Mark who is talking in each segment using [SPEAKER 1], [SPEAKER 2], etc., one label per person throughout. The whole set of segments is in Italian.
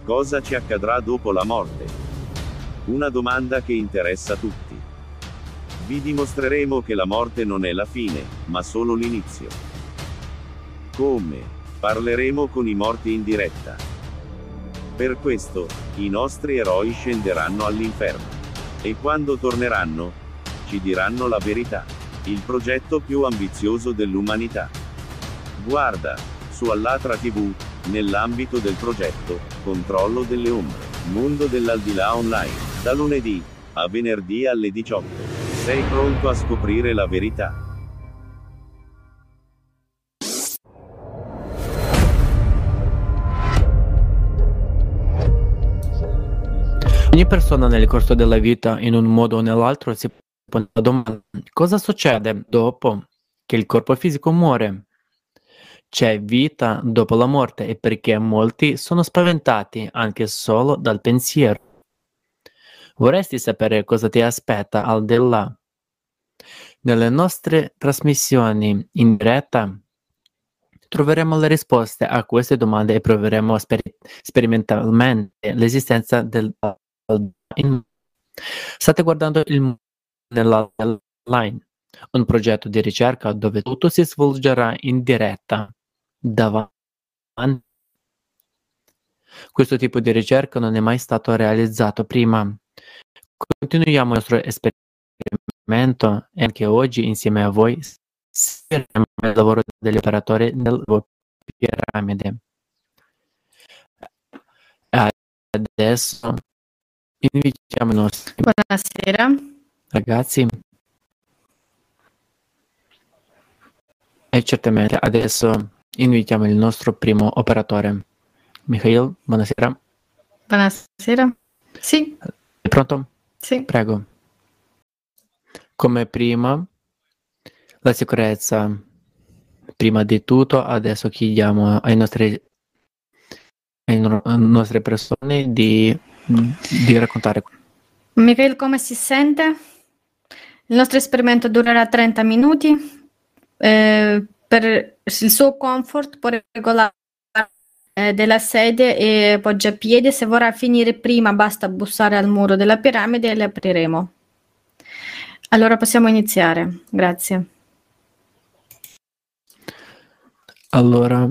[SPEAKER 1] Cosa ci accadrà dopo la morte? Una domanda che interessa tutti. Vi dimostreremo che la morte non è la fine, ma solo l'inizio. Come? Parleremo con i morti in diretta. Per questo, i nostri eroi scenderanno all'inferno. E quando torneranno, ci diranno la verità. Il progetto più ambizioso dell'umanità. Guarda, su Allatra TV, nell'ambito del progetto Controllo delle Ombre, Mondo dell'Aldilà Online, da lunedì a venerdì alle 18. Sei pronto a scoprire la verità?
[SPEAKER 2] Ogni persona nel corso della vita, in un modo o nell'altro, si pone la domanda: cosa succede dopo che il corpo fisico muore? C'è vita dopo la morte, e perché molti sono spaventati anche solo dal pensiero. Vorresti sapere cosa ti aspetta al di là? Nelle nostre trasmissioni in diretta troveremo le risposte a queste domande e proveremo sperimentalmente l'esistenza del State guardando il mondo nell'online, un progetto di ricerca dove tutto si svolgerà in diretta davanti. Questo tipo di ricerca non è mai stato realizzato prima. Continuiamo il nostro esperimento e anche oggi insieme a voi seguiremo il lavoro degli operatori del piramide. Adesso invitiamo i nostri
[SPEAKER 3] Buonasera.
[SPEAKER 2] ragazzi e certamente adesso invitiamo il nostro primo operatore. Mikhail, buonasera.
[SPEAKER 3] Buonasera. Sì.
[SPEAKER 2] È pronto?
[SPEAKER 3] Sì.
[SPEAKER 2] Prego. Come prima, la sicurezza. Prima di tutto, adesso chiediamo ai nostre persone di raccontare.
[SPEAKER 3] Mikhail, come si sente? Il nostro esperimento durerà 30 minuti. Per il suo comfort può regolare della sedia e poggia a piedi. Se vorrà finire prima, basta bussare al muro della piramide e le apriremo. Allora possiamo iniziare. Grazie.
[SPEAKER 2] Allora,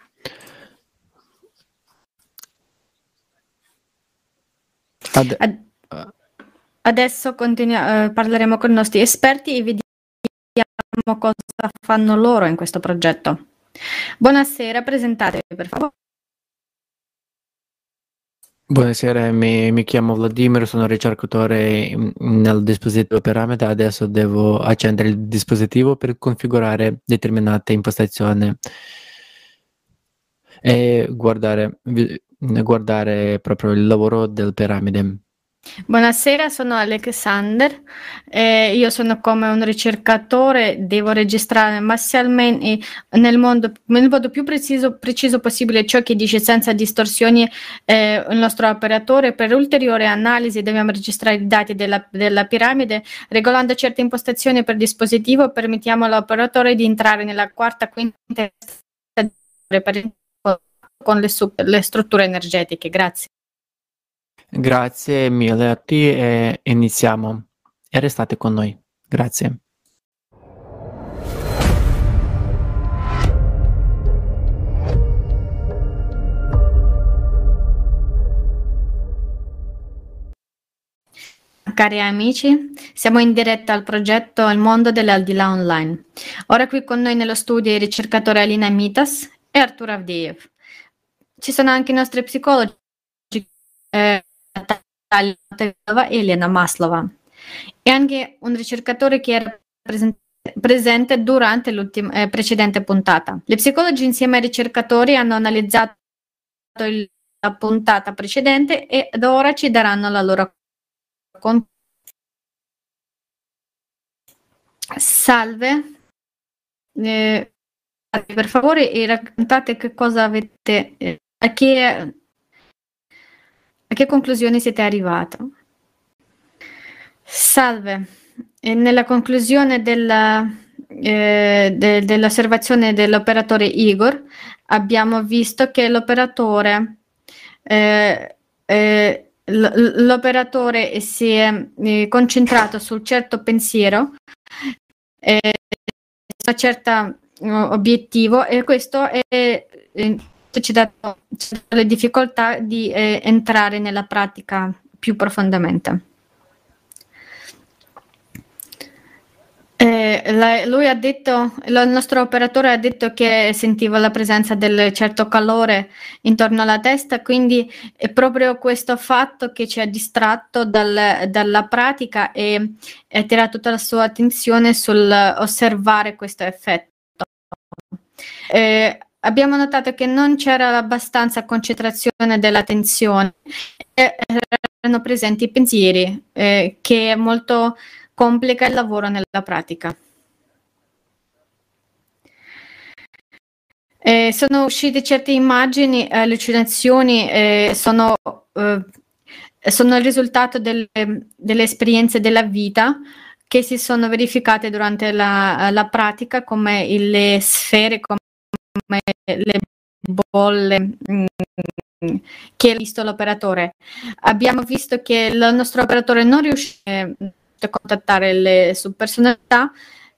[SPEAKER 3] adesso parleremo con i nostri esperti e vediamo cosa fanno loro in questo progetto. Buonasera, presentatevi per favore.
[SPEAKER 2] Buonasera, mi chiamo Vladimir, sono ricercatore nel dispositivo piramide. Adesso devo accendere il dispositivo per configurare determinate impostazioni e guardare proprio il lavoro del piramide.
[SPEAKER 3] Buonasera, sono Alexander. Io sono come un ricercatore, devo registrare massalmente nel modo più preciso possibile ciò che dice senza distorsioni il nostro operatore. Per ulteriore analisi dobbiamo registrare i dati della piramide. Regolando certe impostazioni per dispositivo, permettiamo all'operatore di entrare nella quarta, quinta con le strutture energetiche. Grazie.
[SPEAKER 2] Grazie mille a te e iniziamo. E restate con noi. Grazie.
[SPEAKER 3] Cari amici, siamo in diretta al progetto Il Mondo dell'Aldilà Online. Ora qui con noi nello studio i ricercatori Alina Mitas e Artur Avdeev. Ci sono anche i nostri psicologi Natalia e Elena Maslova e anche un ricercatore che era presente durante l'ultima precedente puntata. Gli psicologi insieme ai ricercatori hanno analizzato la puntata precedente e da ora ci daranno la loro Salve, per favore e raccontate che cosa avete, a che conclusione siete arrivati. Salve, nella conclusione dell'osservazione dell'operatore Igor abbiamo visto che l'operatore l'operatore si è concentrato sul certo pensiero, su un certo obiettivo, e questo ci dà le difficoltà di entrare nella pratica più profondamente. Lui ha detto, il nostro operatore ha detto che sentiva la presenza del certo calore intorno alla testa, quindi è proprio questo fatto che ci ha distratto dalla pratica e attira tutta la sua attenzione sul osservare questo effetto. Abbiamo notato che non c'era abbastanza concentrazione dell'attenzione, erano presenti i pensieri, che è molto complica il lavoro nella pratica. Sono uscite certe immagini, allucinazioni, sono il risultato delle esperienze della vita che si sono verificate durante la pratica, come le sfere, come le bolle che ha visto l'operatore. Abbiamo visto che il nostro operatore non riusciva a contattare le subpersonalità,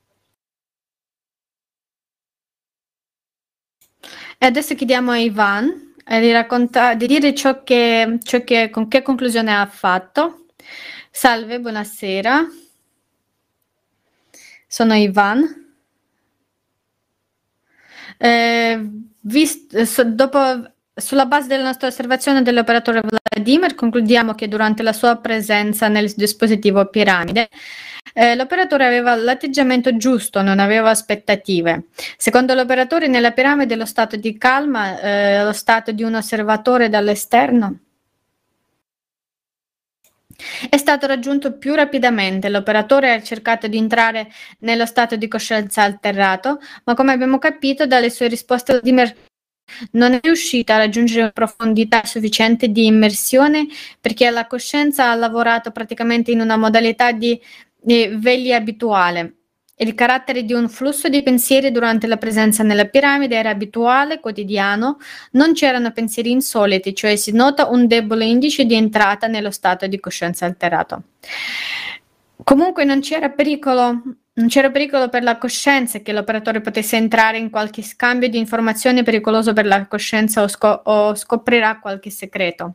[SPEAKER 3] e adesso chiediamo a Ivan di dire con che conclusione ha fatto. Salve, buonasera. Sono Ivan. Sulla base della nostra osservazione dell'operatore Vladimir, concludiamo che durante la sua presenza nel dispositivo piramide, l'operatore aveva l'atteggiamento giusto, non aveva aspettative. Secondo l'operatore, nella piramide lo stato di calma, lo stato di un osservatore dall'esterno, è stato raggiunto più rapidamente. L'operatore ha cercato di entrare nello stato di coscienza alterato, ma come abbiamo capito dalle sue risposte, Vladimir non è riuscita a raggiungere una profondità sufficiente di immersione, perché la coscienza ha lavorato praticamente in una modalità di veglia abituale. Il carattere di un flusso di pensieri durante la presenza nella piramide era abituale, quotidiano, non c'erano pensieri insoliti, cioè si nota un debole indice di entrata nello stato di coscienza alterato. Comunque non c'era pericolo per la coscienza che l'operatore potesse entrare in qualche scambio di informazioni pericoloso per la coscienza o scoprirà qualche segreto.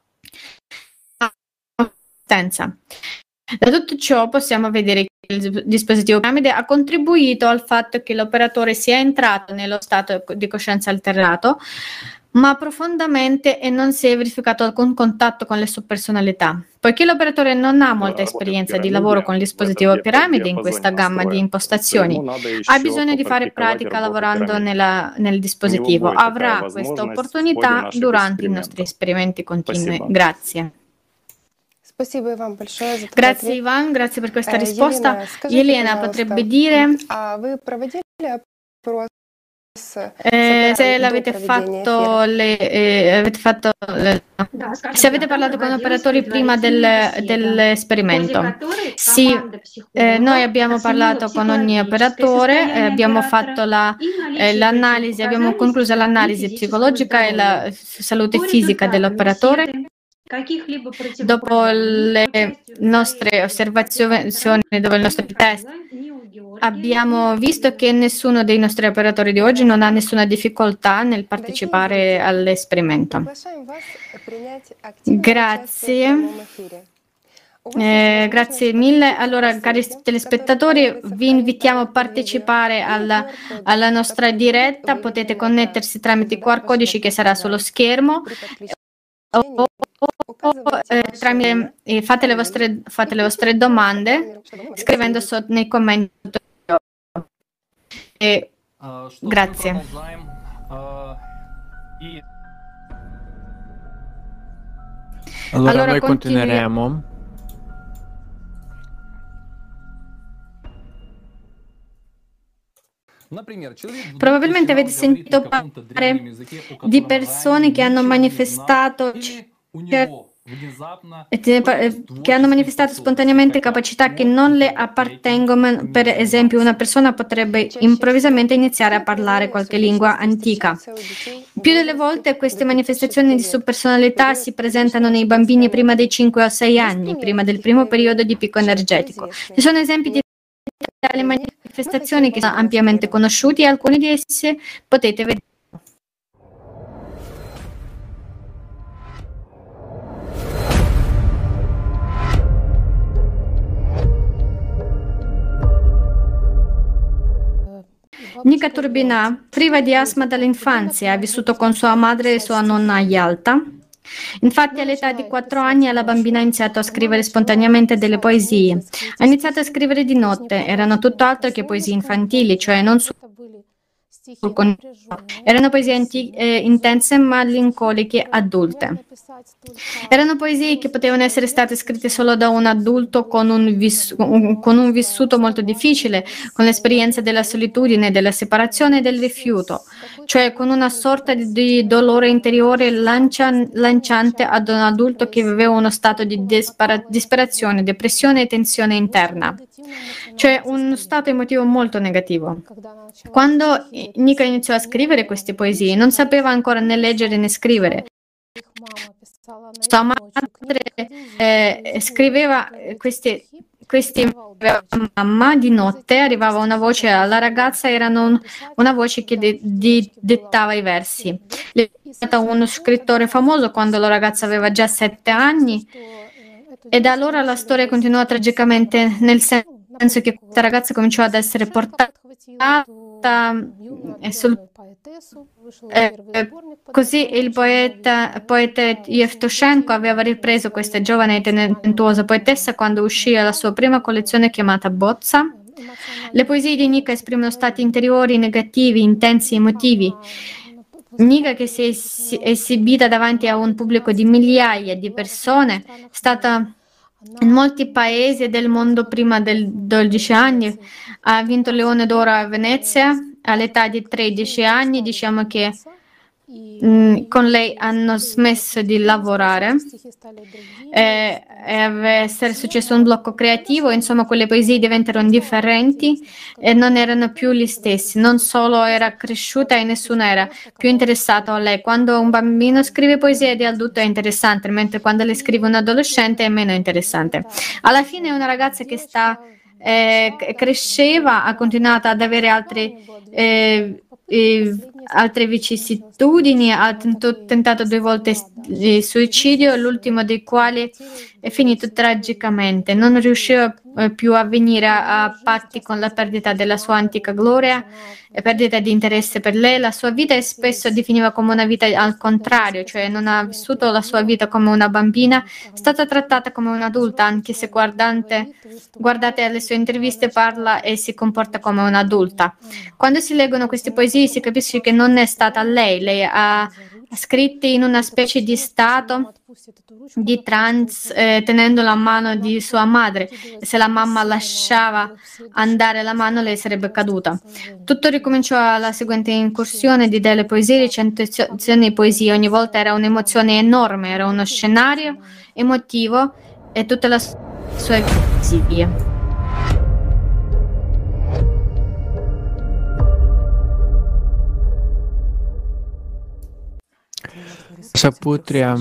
[SPEAKER 3] Da tutto ciò possiamo vedere che il dispositivo piramide ha contribuito al fatto che l'operatore sia entrato nello stato di coscienza alterato, ma profondamente, e non si è verificato alcun contatto con le subpersonalità. Poiché l'operatore non ha molta esperienza di lavoro con il dispositivo piramide in questa gamma di impostazioni, ha bisogno di fare pratica lavorando nel dispositivo. Avrà questa opportunità durante i nostri esperimenti continui. Grazie. Grazie Ivan, grazie per questa risposta. Elena potrebbe dire se l'avete fatto, se avete parlato con operatori prima dell'esperimento. Sì, noi abbiamo parlato con ogni operatore, abbiamo fatto l'analisi, abbiamo concluso l'analisi psicologica e la salute fisica dell'operatore. Dopo le nostre osservazioni, dopo i nostri test, abbiamo visto che nessuno dei nostri operatori di oggi non ha nessuna difficoltà nel partecipare all'esperimento. Grazie. Grazie mille. Allora, cari telespettatori, vi invitiamo a partecipare alla nostra diretta. Potete connettersi tramite i QR codici che sarà sullo schermo. Fate le vostre domande scrivendo nei commenti. Grazie.
[SPEAKER 2] Allora noi continueremo.
[SPEAKER 3] Probabilmente avete sentito parlare di persone che hanno manifestato che hanno manifestato spontaneamente capacità che non le appartengono. Per esempio, una persona potrebbe improvvisamente iniziare a parlare qualche lingua antica. Più delle volte queste manifestazioni di subpersonalità si presentano nei bambini prima dei 5 o 6 anni, prima del primo periodo di picco energetico. Ci sono esempi di tali manifestazioni che sono ampiamente conosciuti e alcuni di essi potete vedere. Nika Turbina, priva di asma dall'infanzia, ha vissuto con sua madre e sua nonna a Yalta. Infatti all'età di 4 anni la bambina ha iniziato a scrivere spontaneamente delle poesie. Ha iniziato a scrivere di notte, erano tutt'altro che poesie infantili, cioè non erano poesie intense malincoliche adulte. Erano poesie che potevano essere state scritte solo da un adulto con un vissuto molto difficile, con l'esperienza della solitudine, della separazione e del rifiuto, cioè con una sorta di dolore interiore lanciante ad un adulto che viveva uno stato di disperazione, depressione e tensione interna, cioè uno stato emotivo molto negativo. Quando Nika iniziò a scrivere queste poesie, non sapeva ancora né leggere né scrivere. Sua madre scriveva queste mamma di notte, arrivava una voce alla ragazza, era una voce che dettava i versi. È stato uno scrittore famoso quando la ragazza aveva già 7 anni e da allora la storia continuò tragicamente, nel senso che questa ragazza cominciò ad essere portata così il poeta Yevtushenko aveva ripreso questa giovane e talentuosa poetessa quando uscì la sua prima collezione chiamata Bozza. Le poesie di Nika esprimono stati interiori negativi, intensi, emotivi. Nika, che si è esibita davanti a un pubblico di migliaia di persone, è stata in molti paesi del mondo prima dei 12 anni, ha vinto il Leone d'Oro a Venezia all'età di 13 anni, diciamo che con lei hanno smesso di lavorare e essere successo un blocco creativo, insomma quelle poesie diventarono differenti e non erano più gli stessi, non solo era cresciuta e nessuno era più interessato a lei. Quando un bambino scrive poesie di adulto è interessante, mentre quando le scrive un adolescente è meno interessante. Alla fine è una ragazza che cresceva, ha continuato ad avere altre vicissitudini, ha tentato 2 volte il suicidio, l'ultimo dei quali è finito tragicamente. Non riusciva più a venire a patti con la perdita della sua antica gloria e perdita di interesse per lei. La sua vita spesso definiva come una vita al contrario, cioè non ha vissuto la sua vita come una bambina, è stata trattata come un'adulta, anche se guardate alle sue interviste parla e si comporta come un'adulta. Quando si leggono queste poesie si capisce che non è stata lei ha scritte in una specie di stato di trance, tenendo la mano di sua madre, e se la mamma lasciava andare la mano lei sarebbe caduta. Tutto ricominciò alla seguente incursione di delle poesie, recitazioni di poesie, ogni volta era un'emozione enorme, era uno scenario emotivo e tutta la sua poesia.
[SPEAKER 2] Shaputria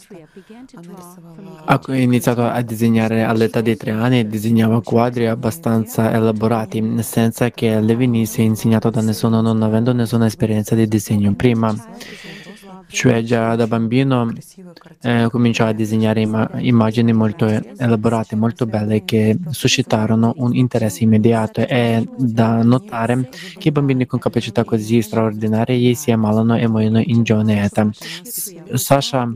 [SPEAKER 2] ha iniziato a disegnare all'età di 3 anni e disegnava quadri abbastanza elaborati, senza che le venisse insegnato da nessuno, non avendo nessuna esperienza di disegno prima. Cioè già da bambino cominciò a disegnare immagini molto elaborate, molto belle, che suscitarono un interesse immediato. È da notare che i bambini con capacità così straordinarie si ammalano e muoiono in giovane età. Sasha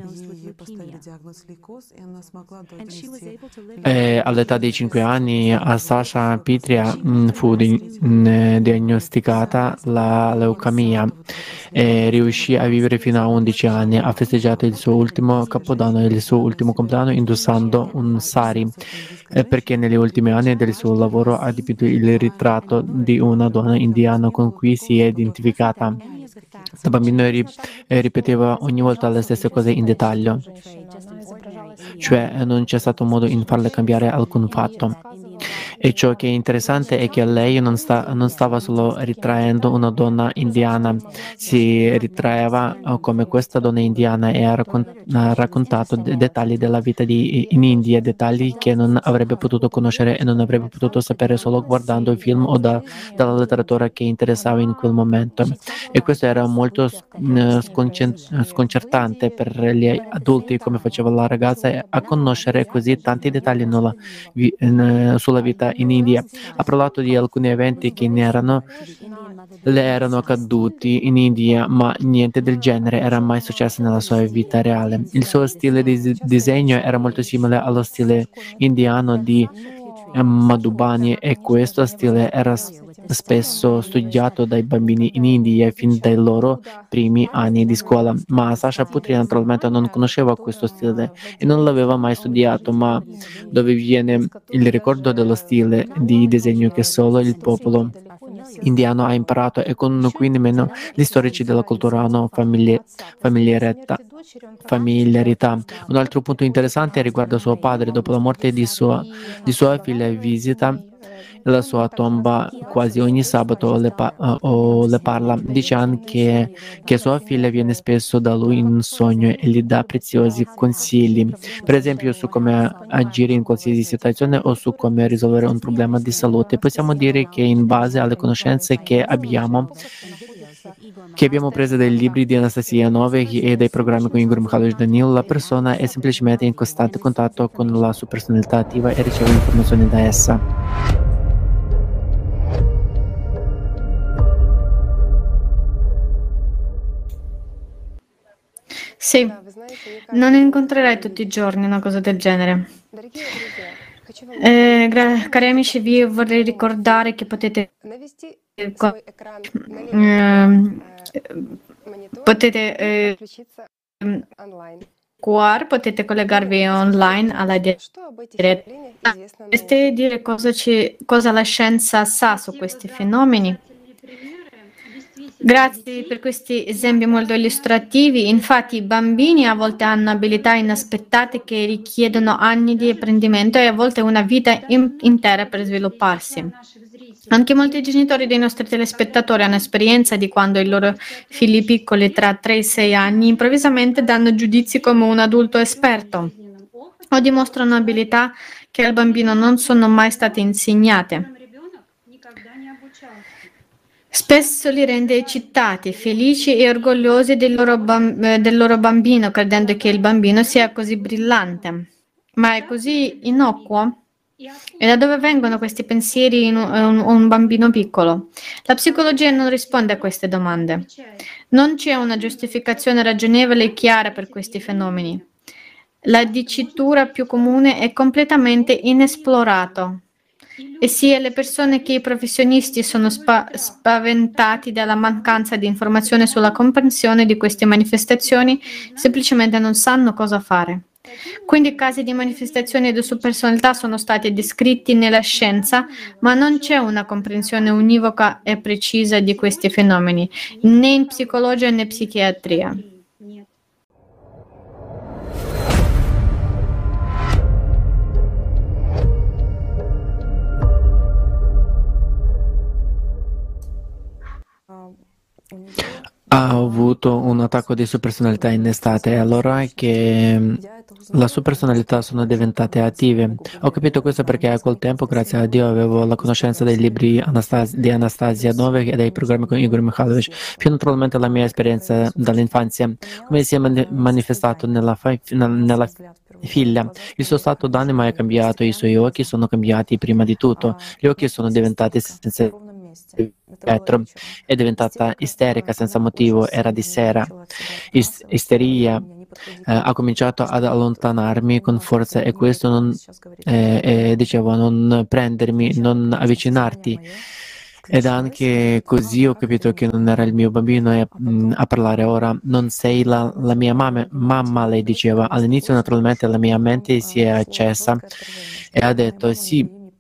[SPEAKER 2] all'età di 5 anni a Sasha Pitria fu diagnosticata la leucemia e riuscì a vivere fino a 11 anni. Ha festeggiato il suo ultimo capodanno e il suo ultimo compleanno indossando un sari, perché negli ultimi anni del suo lavoro ha dipinto il ritratto di una donna indiana con cui si è identificata. Da bambino ripeteva ogni volta le stesse cose in dettaglio. cioè non c'è stato modo in farle cambiare alcun fatto. E ciò che è interessante è che lei non stava solo ritraendo una donna indiana, si ritraeva come questa donna indiana e ha raccontato dettagli della vita in India, dettagli che non avrebbe potuto conoscere e non avrebbe potuto sapere solo guardando i film o dalla letteratura che interessava in quel momento. E questo era molto sconcertante per gli adulti, come faceva la ragazza, a conoscere così tanti dettagli sulla vita in India. Ha parlato di alcuni eventi che le erano accaduti in India, ma niente del genere era mai successo nella sua vita reale. Il suo stile di disegno era molto simile allo stile indiano di Madhubani e questo stile era spesso studiato dai bambini in India fin dai loro primi anni di scuola, ma Sasha Putri naturalmente non conosceva questo stile e non l'aveva mai studiato, ma dove viene il ricordo dello stile di disegno che solo il popolo indiano ha imparato e con cui nemmeno gli storici della cultura hanno familiarità. Un altro punto interessante riguarda suo padre. Dopo la morte di sua figlia visita la sua tomba quasi ogni sabato o le parla. Dice anche che sua figlia viene spesso da lui in un sogno e gli dà preziosi consigli, per esempio su come agire in qualsiasi situazione o su come risolvere un problema di salute. Possiamo dire che in base alle conoscenze che abbiamo prese dai libri di Anastasia Novik e dai programmi con Igor Mikhailovich Danil, la persona è semplicemente in costante contatto con la sua personalità attiva e riceve informazioni da essa.
[SPEAKER 3] Sì, non incontrerai tutti i giorni una cosa del genere. Cari amici, vi vorrei ricordare che potete potete collegarvi online alla diretta. Potreste dire cosa la scienza sa su questi fenomeni? Grazie per questi esempi molto illustrativi. Infatti, i bambini a volte hanno abilità inaspettate che richiedono anni di apprendimento e a volte una vita intera per svilupparsi. Anche molti genitori dei nostri telespettatori hanno esperienza di quando i loro figli piccoli tra 3 e 6 anni improvvisamente danno giudizi come un adulto esperto o dimostrano abilità che al bambino non sono mai state insegnate. Spesso li rende eccitati, felici e orgogliosi del loro bambino, credendo che il bambino sia così brillante. Ma è così innocuo? E da dove vengono questi pensieri in un bambino piccolo? La psicologia non risponde a queste domande. Non c'è una giustificazione ragionevole e chiara per questi fenomeni. La dicitura più comune è completamente inesplorato. E sia le persone che i professionisti sono spaventati dalla mancanza di informazione sulla comprensione di queste manifestazioni, semplicemente non sanno cosa fare. Quindi casi di manifestazioni di subpersonalità sono stati descritti nella scienza, ma non c'è una comprensione univoca e precisa di questi fenomeni, né in psicologia né psichiatria.
[SPEAKER 2] Ha avuto un attacco di sua personalità in estate, allora che la sua personalità sono diventate attive. Ho capito questo perché a quel tempo, grazie a Dio, avevo la conoscenza dei libri di Anastasia Novik e dei programmi con Igor Mikhailovich, più naturalmente la mia esperienza dall'infanzia, come si è manifestato nella figlia. Il suo stato d'animo è cambiato, i suoi occhi sono cambiati prima di tutto, gli occhi sono diventati senza vetro, è diventata isterica senza motivo, era di sera. Isteria ha cominciato ad allontanarmi con forza e questo dicevo non prendermi, non avvicinarti. Ed anche così ho capito che non era il mio bambino a parlare ora. Non sei la mia mamma, lei diceva. All'inizio naturalmente la mia mente si è accesa e ha detto sì,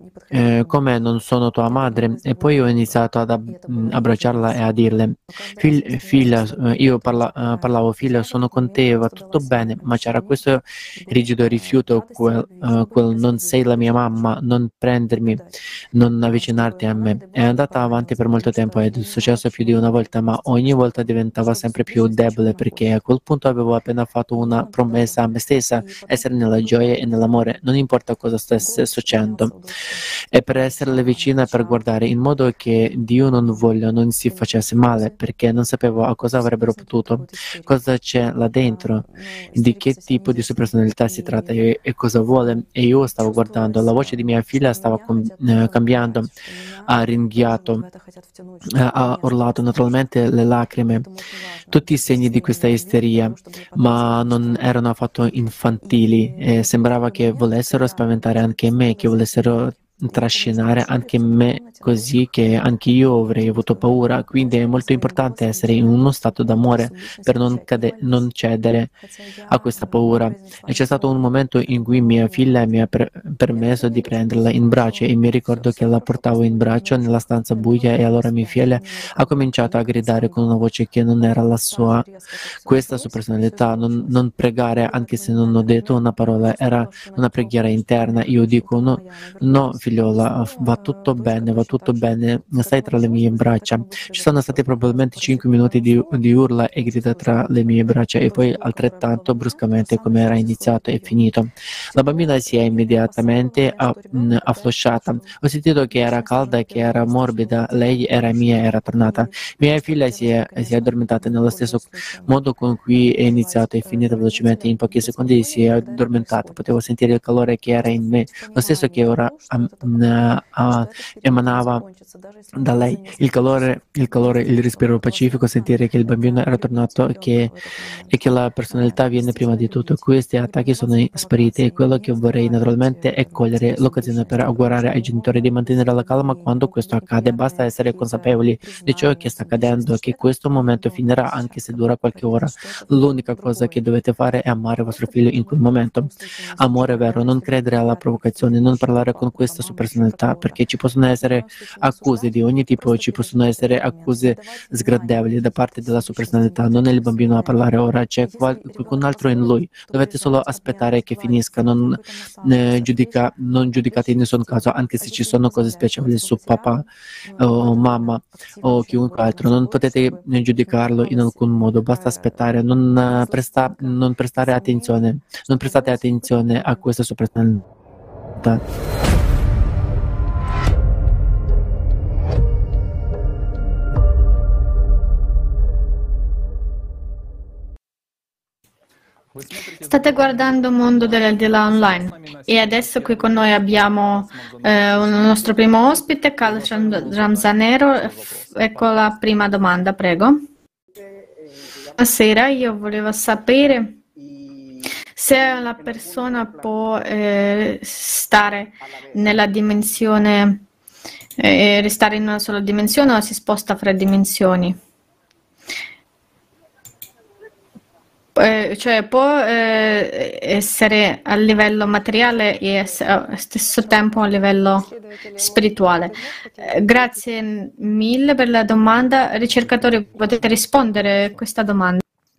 [SPEAKER 2] come non sono tua madre? E poi ho iniziato ad abbracciarla e a dirle, figlia, io parlavo, figlia, sono con te, va tutto bene, ma c'era questo rigido rifiuto, quel non sei la mia mamma, non prendermi, non avvicinarti a me. È andata avanti per molto tempo ed è successo più di una volta, ma ogni volta diventava sempre più debole perché a quel punto avevo appena fatto una promessa a me stessa, essere nella gioia e nell'amore, non importa cosa stesse succedendo. E per esserle vicina, per guardare in modo che Dio non voglia non si facesse male, perché non sapevo a cosa avrebbero potuto, cosa c'è là dentro, di che tipo di sua personalità si tratta e cosa vuole. E io stavo guardando, la voce di mia figlia stava cambiando, ha ringhiato, ha urlato naturalmente le lacrime, tutti i segni di questa isteria, ma non erano affatto infantili e sembrava che volessero spaventare anche me, che volessero trascinare anche me così che anche io avrei avuto paura. Quindi è molto importante essere in uno stato d'amore per non cedere a questa paura. E c'è stato un momento in cui mia figlia mi ha permesso di prenderla in braccio e mi ricordo che la portavo in braccio nella stanza buia e allora mia figlia ha cominciato a gridare con una voce che non era la sua. Questa sua personalità, non pregare anche se non ho detto una parola, era una preghiera interna. Io dico no, no figliola, va tutto bene, stai tra le mie braccia. Ci sono stati probabilmente 5 minuti di urla e grida tra le mie braccia e poi altrettanto bruscamente come era iniziato e finito. La bambina si è immediatamente afflosciata. Ho sentito che era calda, che era morbida, lei era mia, era tornata. Mia figlia si è addormentata nello stesso modo con cui è iniziato e finito velocemente. In pochi secondi si è addormentata. Potevo sentire il calore che era in me, lo stesso che ora emanava da lei. Il calore, il respiro pacifico, sentire che il bambino era tornato e che la personalità viene prima di tutto. Questi attacchi sono spariti e quello che vorrei naturalmente è cogliere l'occasione per augurare ai genitori di mantenere la calma quando questo accade. Basta essere consapevoli di ciò che sta accadendo, che questo momento finirà anche se dura qualche ora. L'unica cosa che dovete fare è amare vostro figlio in quel momento. Amore vero, non credere alla provocazione, non parlare con questa sua personalità, perché ci possono essere accuse di ogni tipo, ci possono essere accuse sgradevoli da parte della sua personalità. Non è il bambino a parlare ora, c'è qualcun altro in lui. Dovete solo aspettare che finisca, non giudicate in nessun caso, anche se ci sono cose spiacevoli su papà o mamma o chiunque altro. Non potete giudicarlo in alcun modo, basta aspettare, non prestate attenzione a questa sua personalità.
[SPEAKER 3] State guardando Mondo dell'Aldilà Online e adesso qui con noi abbiamo il nostro primo ospite, Carl Ramzanero. Ecco la prima domanda, prego. Buonasera, io volevo sapere se la persona può stare nella dimensione, restare in una sola dimensione o si sposta fra dimensioni. Cioè può essere a livello materiale e allo stesso tempo a livello spirituale. Grazie mille per la domanda. Ricercatori, potete rispondere a questa domanda?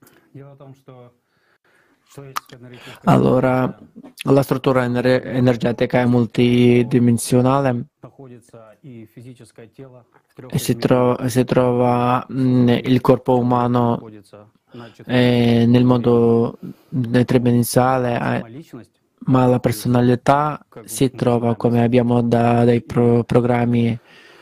[SPEAKER 2] Allora, la struttura energetica è multidimensionale e si trova il corpo umano nel modo tridimensionale, ma la personalità si trova, come abbiamo dai programmi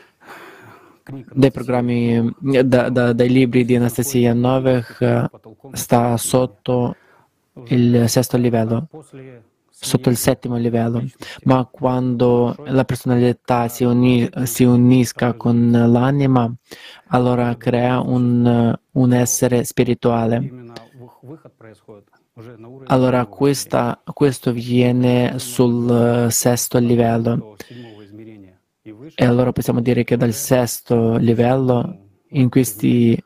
[SPEAKER 2] dai libri di Anastasia Novech, sta sotto il sesto livello, sotto il settimo livello, ma quando la personalità si unisca con l'anima, allora crea un essere spirituale. Allora questo viene sul sesto livello e allora possiamo dire che dal sesto livello, in questi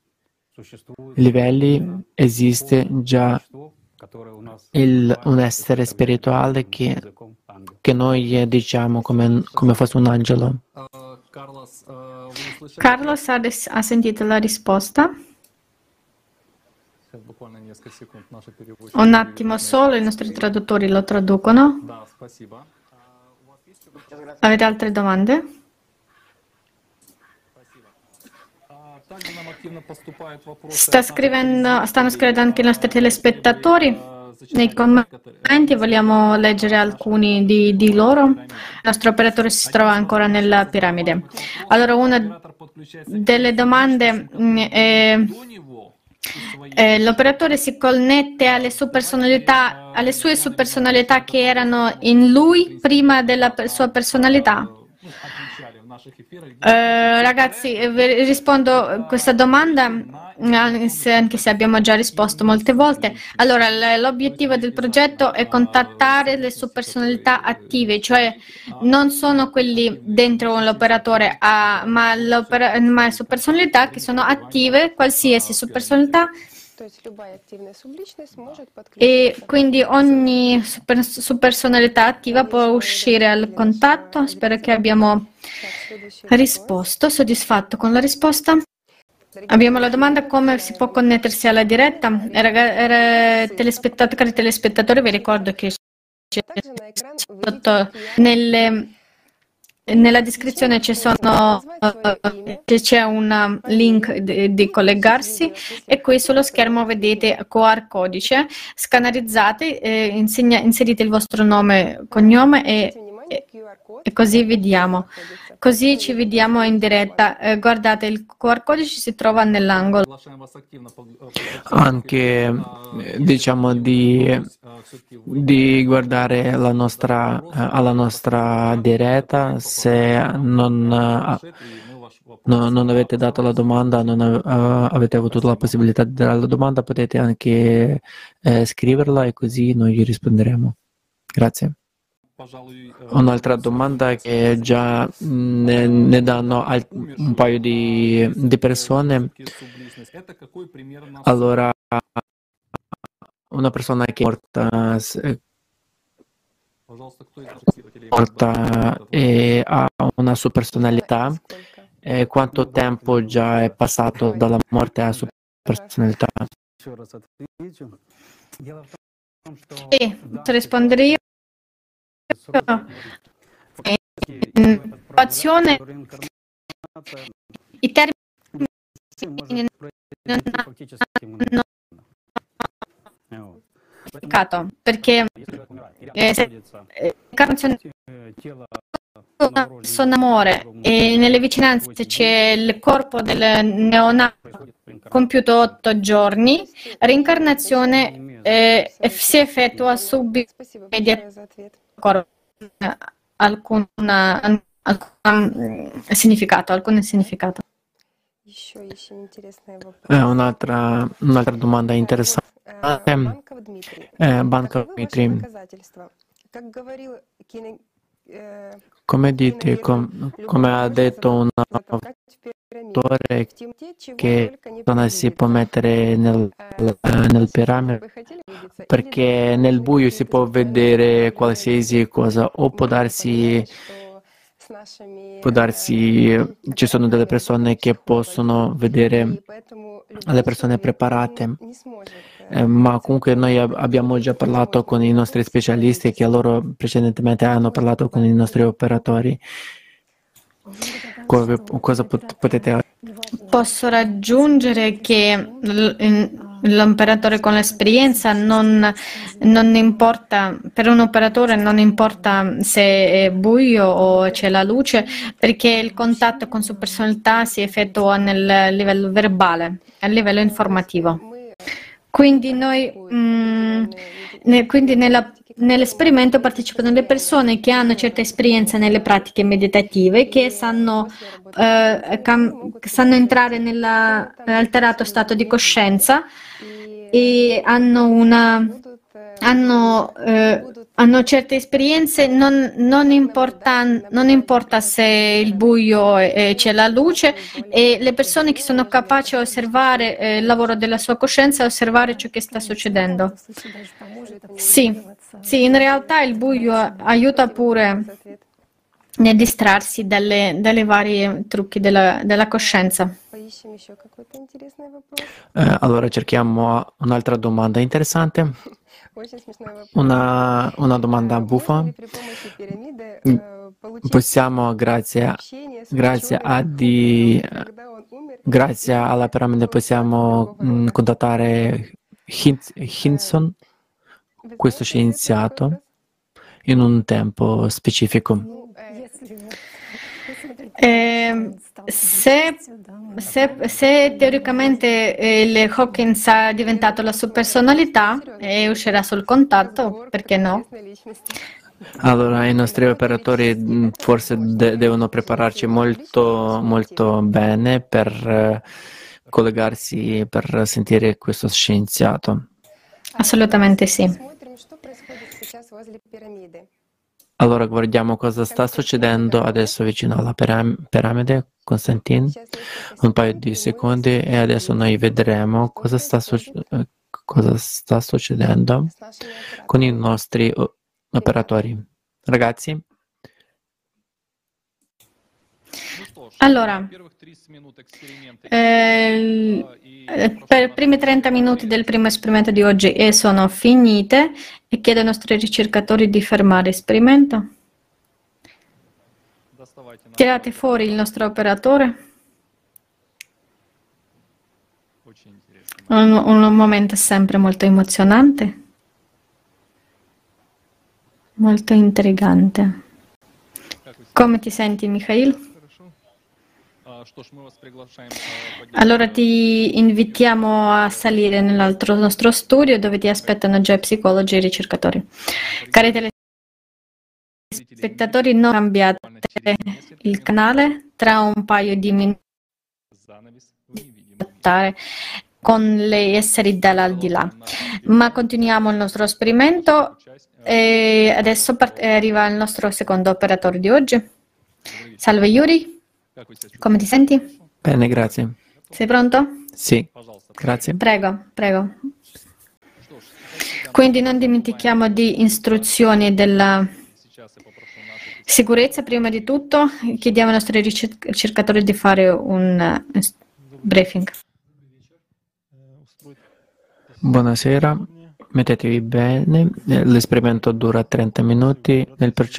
[SPEAKER 2] livelli esiste già un essere spirituale che che noi diciamo come fosse un angelo.
[SPEAKER 3] Carlos ha sentito la risposta. Un attimo solo, i nostri traduttori lo traducono. Avete altre domande? Stanno scrivendo anche i nostri telespettatori nei commenti, vogliamo leggere alcuni di loro. Il nostro operatore si trova ancora nella piramide. Allora, una delle domande è: l'operatore si connette alle sue personalità che erano in lui prima della sua personalità? Ragazzi, rispondo a questa domanda anche se abbiamo già risposto molte volte. Allora, l'obiettivo del progetto è contattare le sue personalità attive, cioè non sono quelli dentro l'operatore, ma le sue personalità che sono attive, qualsiasi sua personalità. E quindi ogni personalità attiva può uscire al contatto. Spero che abbiamo risposto. Soddisfatto con la risposta? Abbiamo la domanda: come si può connettersi alla diretta? Cari telespettatori, vi ricordo che sotto nella descrizione c'è un link di collegarsi, e qui sullo schermo vedete QR codice. Scannerizzate, inserite il vostro nome, cognome e così vediamo. Così ci vediamo in diretta. Guardate, il QR codice si trova nell'angolo.
[SPEAKER 2] Anche diciamo di guardare alla nostra diretta. Se non avete dato la domanda, non avete avuto la possibilità di dare la domanda, potete anche scriverla e così noi gli risponderemo. Grazie. Un'altra domanda che già ne danno un paio di persone. Allora, una persona che è morta e ha una sua personalità, quanto tempo già è passato dalla morte alla sua personalità?
[SPEAKER 3] E rispondere io. Innovazione, i termini non hanno perché se sono amore e nelle vicinanze c'è il corpo del neonato compiuto 8 giorni, reincarnazione si effettua subito alcun significato.
[SPEAKER 2] Un'altra domanda interessante. Banca Dmitry. Come dite, come ha detto un autore, che non si può mettere nel piramide, perché nel buio si può vedere qualsiasi cosa, o può darsi ci sono delle persone che possono vedere le persone preparate, ma comunque noi abbiamo già parlato con i nostri specialisti, che loro precedentemente hanno parlato con i nostri operatori. Cosa potete?
[SPEAKER 3] Posso raggiungere che l'operatore con l'esperienza non importa, per un operatore non importa se è buio o c'è la luce, perché il contatto con sua personalità si effettua nel livello verbale, a livello informativo. Quindi nell'esperimento partecipano le persone che hanno certa esperienza nelle pratiche meditative, che sanno entrare nell'alterato stato di coscienza e hanno hanno certe esperienze, non importa se il buio e c'è la luce, e le persone che sono capaci di osservare il lavoro della sua coscienza e osservare ciò che sta succedendo. Sì, sì, in realtà il buio aiuta pure nel distrarsi dalle varie trucchi della coscienza.
[SPEAKER 2] Allora cerchiamo un'altra domanda interessante. Una domanda buffa. Possiamo, grazie alla piramide, possiamo contattare Hinson, questo scienziato, in un tempo specifico.
[SPEAKER 3] Se teoricamente il Hawkins è diventato la sua personalità e uscirà sul contatto, perché no?
[SPEAKER 2] Allora, i nostri operatori forse devono prepararci molto, molto bene per collegarsi, per sentire questo scienziato.
[SPEAKER 3] Assolutamente sì.
[SPEAKER 2] Allora guardiamo cosa sta succedendo adesso vicino alla piramide, Konstantin, un paio di secondi, e adesso noi vedremo cosa sta succedendo con i nostri operatori. Ragazzi?
[SPEAKER 3] Allora, per i primi 30 minuti del primo esperimento di oggi sono finite, e chiedo ai nostri ricercatori di fermare l'esperimento. Tirate fuori il nostro operatore. Un momento sempre molto emozionante, molto intrigante. Come ti senti, Mikhail? Allora ti invitiamo a salire nell'altro nostro studio, dove ti aspettano già psicologi e ricercatori. Cari telespettatori, non cambiate il canale, tra un paio di minuti con gli esseri dall'aldilà. Ma continuiamo il nostro esperimento e adesso arriva il nostro secondo operatore di oggi. Salve Yuri. Come ti senti?
[SPEAKER 2] Bene, grazie.
[SPEAKER 3] Sei pronto?
[SPEAKER 2] Sì, grazie.
[SPEAKER 3] Prego. Quindi non dimentichiamo di istruzioni della sicurezza. Prima di tutto chiediamo ai nostri ricercatori di fare un briefing.
[SPEAKER 2] Buonasera, mettetevi bene. L'esperimento dura 30 minuti.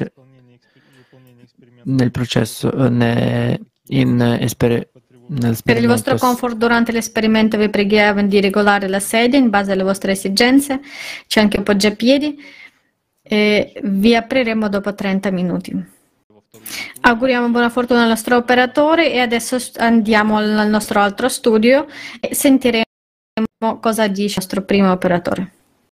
[SPEAKER 3] Per il vostro comfort durante l'esperimento vi preghiamo di regolare la sedia in base alle vostre esigenze. C'è anche poggiapiedi e vi apriremo dopo 30 minuti. Auguriamo buona fortuna al nostro operatore e adesso andiamo al nostro altro studio e sentiremo cosa dice il nostro primo operatore.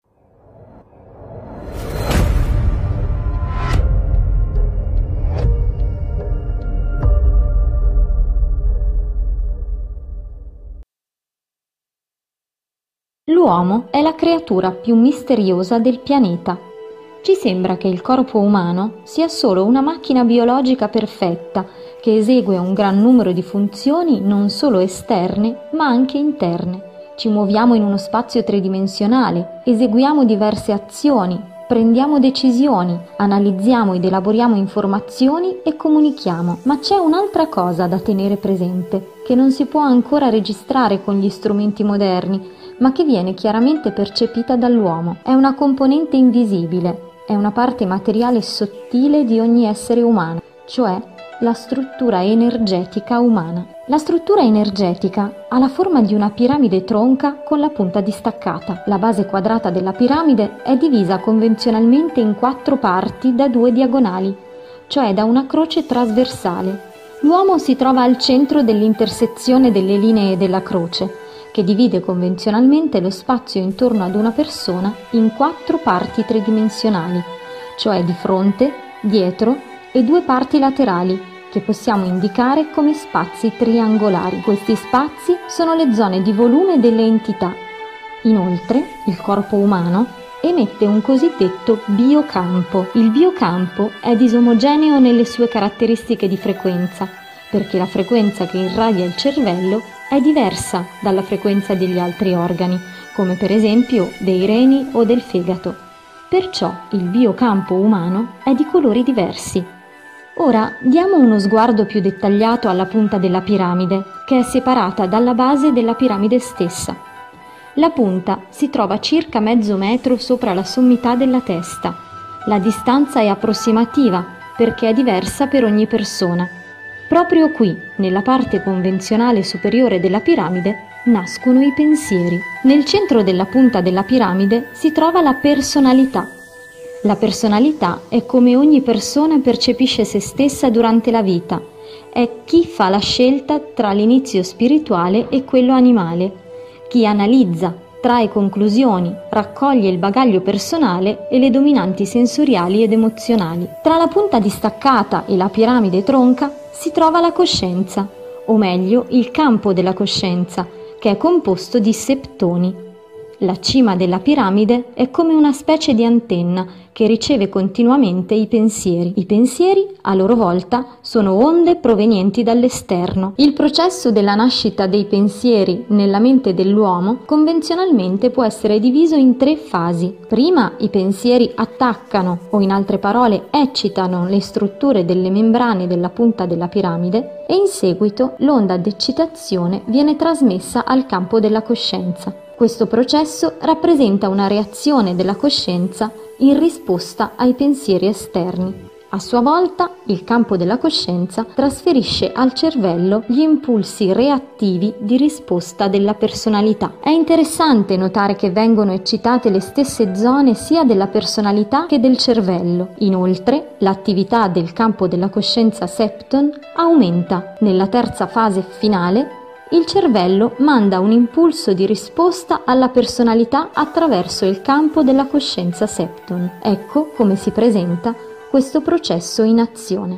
[SPEAKER 4] L'uomo è la creatura più misteriosa del pianeta. Ci sembra che il corpo umano sia solo una macchina biologica perfetta che esegue un gran numero di funzioni non solo esterne ma anche interne. Ci muoviamo in uno spazio tridimensionale, eseguiamo diverse azioni, prendiamo decisioni, analizziamo ed elaboriamo informazioni e comunichiamo. Ma c'è un'altra cosa da tenere presente, che non si può ancora registrare con gli strumenti moderni, ma che viene chiaramente percepita dall'uomo. È una componente invisibile, è una parte materiale sottile di ogni essere umano, cioè la struttura energetica umana. La struttura energetica ha la forma di una piramide tronca con la punta distaccata. La base quadrata della piramide è divisa convenzionalmente in 4 parti da 2 diagonali, cioè da una croce trasversale. L'uomo si trova al centro dell'intersezione delle linee della croce, che divide convenzionalmente lo spazio intorno ad una persona in 4 parti tridimensionali, cioè di fronte, dietro e 2 parti laterali, che possiamo indicare come spazi triangolari. Questi spazi sono le zone di volume delle entità. Inoltre, il corpo umano emette un cosiddetto biocampo. Il biocampo è disomogeneo nelle sue caratteristiche di frequenza, perché la frequenza che irradia il cervello è diversa dalla frequenza degli altri organi, come per esempio dei reni o del fegato. Perciò il biocampo umano è di colori diversi. Ora diamo uno sguardo più dettagliato alla punta della piramide, che è separata dalla base della piramide stessa. La punta si trova circa mezzo metro sopra la sommità della testa. La distanza è approssimativa perché è diversa per ogni persona. Proprio qui, nella parte convenzionale superiore della piramide, nascono i pensieri. Nel centro della punta della piramide si trova la personalità. La personalità è come ogni persona percepisce se stessa durante la vita. È chi fa la scelta tra l'inizio spirituale e quello animale, chi analizza, trae conclusioni, raccoglie il bagaglio personale e le dominanti sensoriali ed emozionali. Tra la punta distaccata e la piramide tronca si trova la coscienza, o meglio il campo della coscienza, che è composto di septoni. La cima della piramide è come una specie di antenna che riceve continuamente i pensieri. I pensieri, a loro volta, sono onde provenienti dall'esterno. Il processo della nascita dei pensieri nella mente dell'uomo convenzionalmente può essere diviso in 3 fasi. Prima i pensieri attaccano, o in altre parole eccitano, le strutture delle membrane della punta della piramide e in seguito l'onda d'eccitazione viene trasmessa al campo della coscienza. Questo processo rappresenta una reazione della coscienza in risposta ai pensieri esterni. A sua volta, il campo della coscienza trasferisce al cervello gli impulsi reattivi di risposta della personalità. È interessante notare che vengono eccitate le stesse zone sia della personalità che del cervello. Inoltre, l'attività del campo della coscienza septon aumenta. Nella terza fase finale, il cervello manda un impulso di risposta alla personalità attraverso il campo della coscienza septon. Ecco come si presenta questo processo in azione.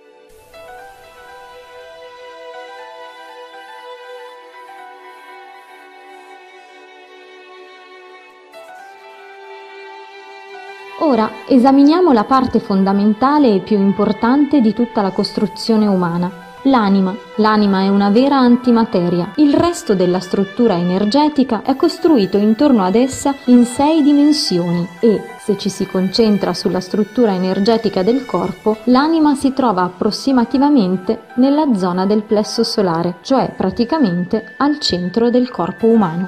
[SPEAKER 4] Ora esaminiamo la parte fondamentale e più importante di tutta la costruzione umana. L'anima. L'anima è una vera antimateria. Il resto della struttura energetica è costruito intorno ad essa in 6 dimensioni e, se ci si concentra sulla struttura energetica del corpo, l'anima si trova approssimativamente nella zona del plesso solare, cioè praticamente al centro del corpo umano.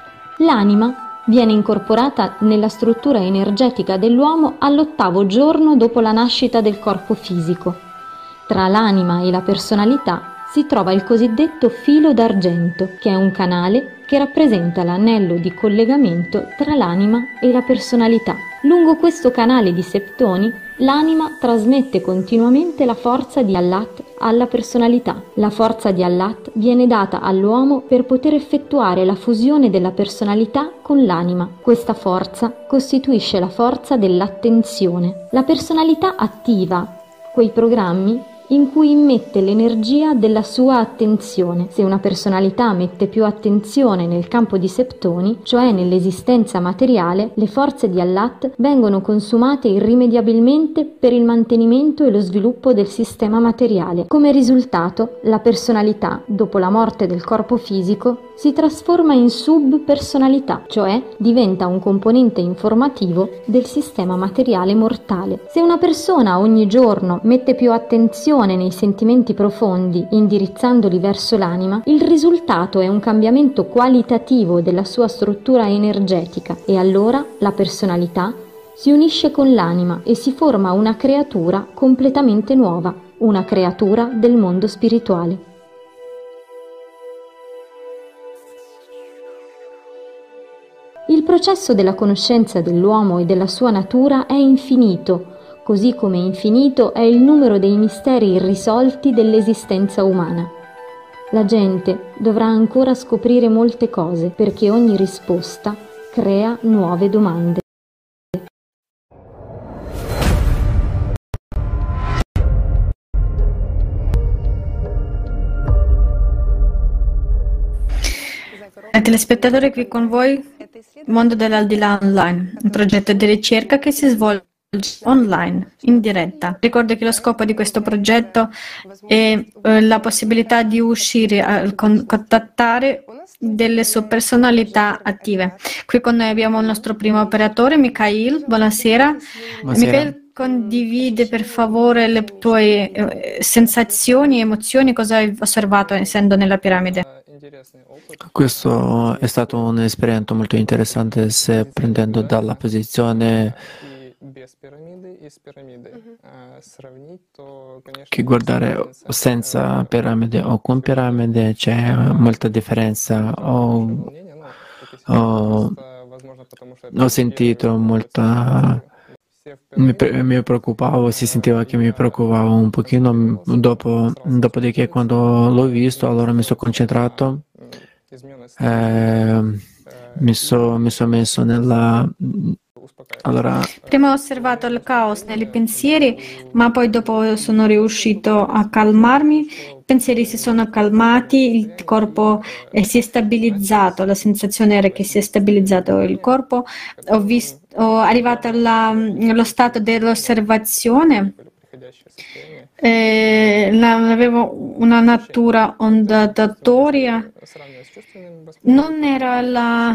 [SPEAKER 4] L'anima viene incorporata nella struttura energetica dell'uomo all'8° giorno dopo la nascita del corpo fisico. Tra l'anima e la personalità si trova il cosiddetto filo d'argento, che è un canale che rappresenta l'anello di collegamento tra l'anima e la personalità. Lungo questo canale di septoni, l'anima trasmette continuamente la forza di Allat alla personalità. La forza di Allat viene data all'uomo per poter effettuare la fusione della personalità con l'anima. Questa forza costituisce la forza dell'attenzione. La personalità attiva quei programmi in cui immette l'energia della sua attenzione. Se una personalità mette più attenzione nel campo di septoni, cioè nell'esistenza materiale, le forze di Allat vengono consumate irrimediabilmente per il mantenimento e lo sviluppo del sistema materiale. Come risultato, la personalità, dopo la morte del corpo fisico, si trasforma in subpersonalità, cioè diventa un componente informativo del sistema materiale mortale. Se una persona ogni giorno mette più attenzione nei sentimenti profondi, indirizzandoli verso l'anima, il risultato è un cambiamento qualitativo della sua struttura energetica e allora la personalità si unisce con l'anima e si forma una creatura completamente nuova, una creatura del mondo spirituale. Il processo della conoscenza dell'uomo e della sua natura è infinito, così come infinito è il numero dei misteri irrisolti dell'esistenza umana. La gente dovrà ancora scoprire molte cose perché ogni risposta crea nuove domande.
[SPEAKER 3] Telespettatore qui con voi mondo dell'aldilà online, un progetto di ricerca che si svolge online, in diretta. Ricordo che lo scopo di questo progetto è la possibilità di uscire a contattare delle sue personalità attive. Qui con noi abbiamo il nostro primo operatore, Mikhail. Buonasera. Mikhail, condivide per favore le tue sensazioni, emozioni, cosa hai osservato essendo nella piramide?
[SPEAKER 2] Questo è stato un'esperienza molto interessante, se prendendo dalla posizione che guardare senza piramide o con piramide c'è molta differenza. Ho sentito molta. Mi preoccupavo, si sentiva che mi preoccupavo un pochino. Dopodiché, quando l'ho visto, allora mi sono concentrato, mi sono messo nella. Allora,
[SPEAKER 3] prima ho osservato il caos nei pensieri, ma poi dopo sono riuscito a calmarmi. I pensieri si sono calmati, il corpo si è stabilizzato, la sensazione era che si è stabilizzato il corpo. Ho arrivato allo stato dell'osservazione. Avevo una natura ondatoria. Non era la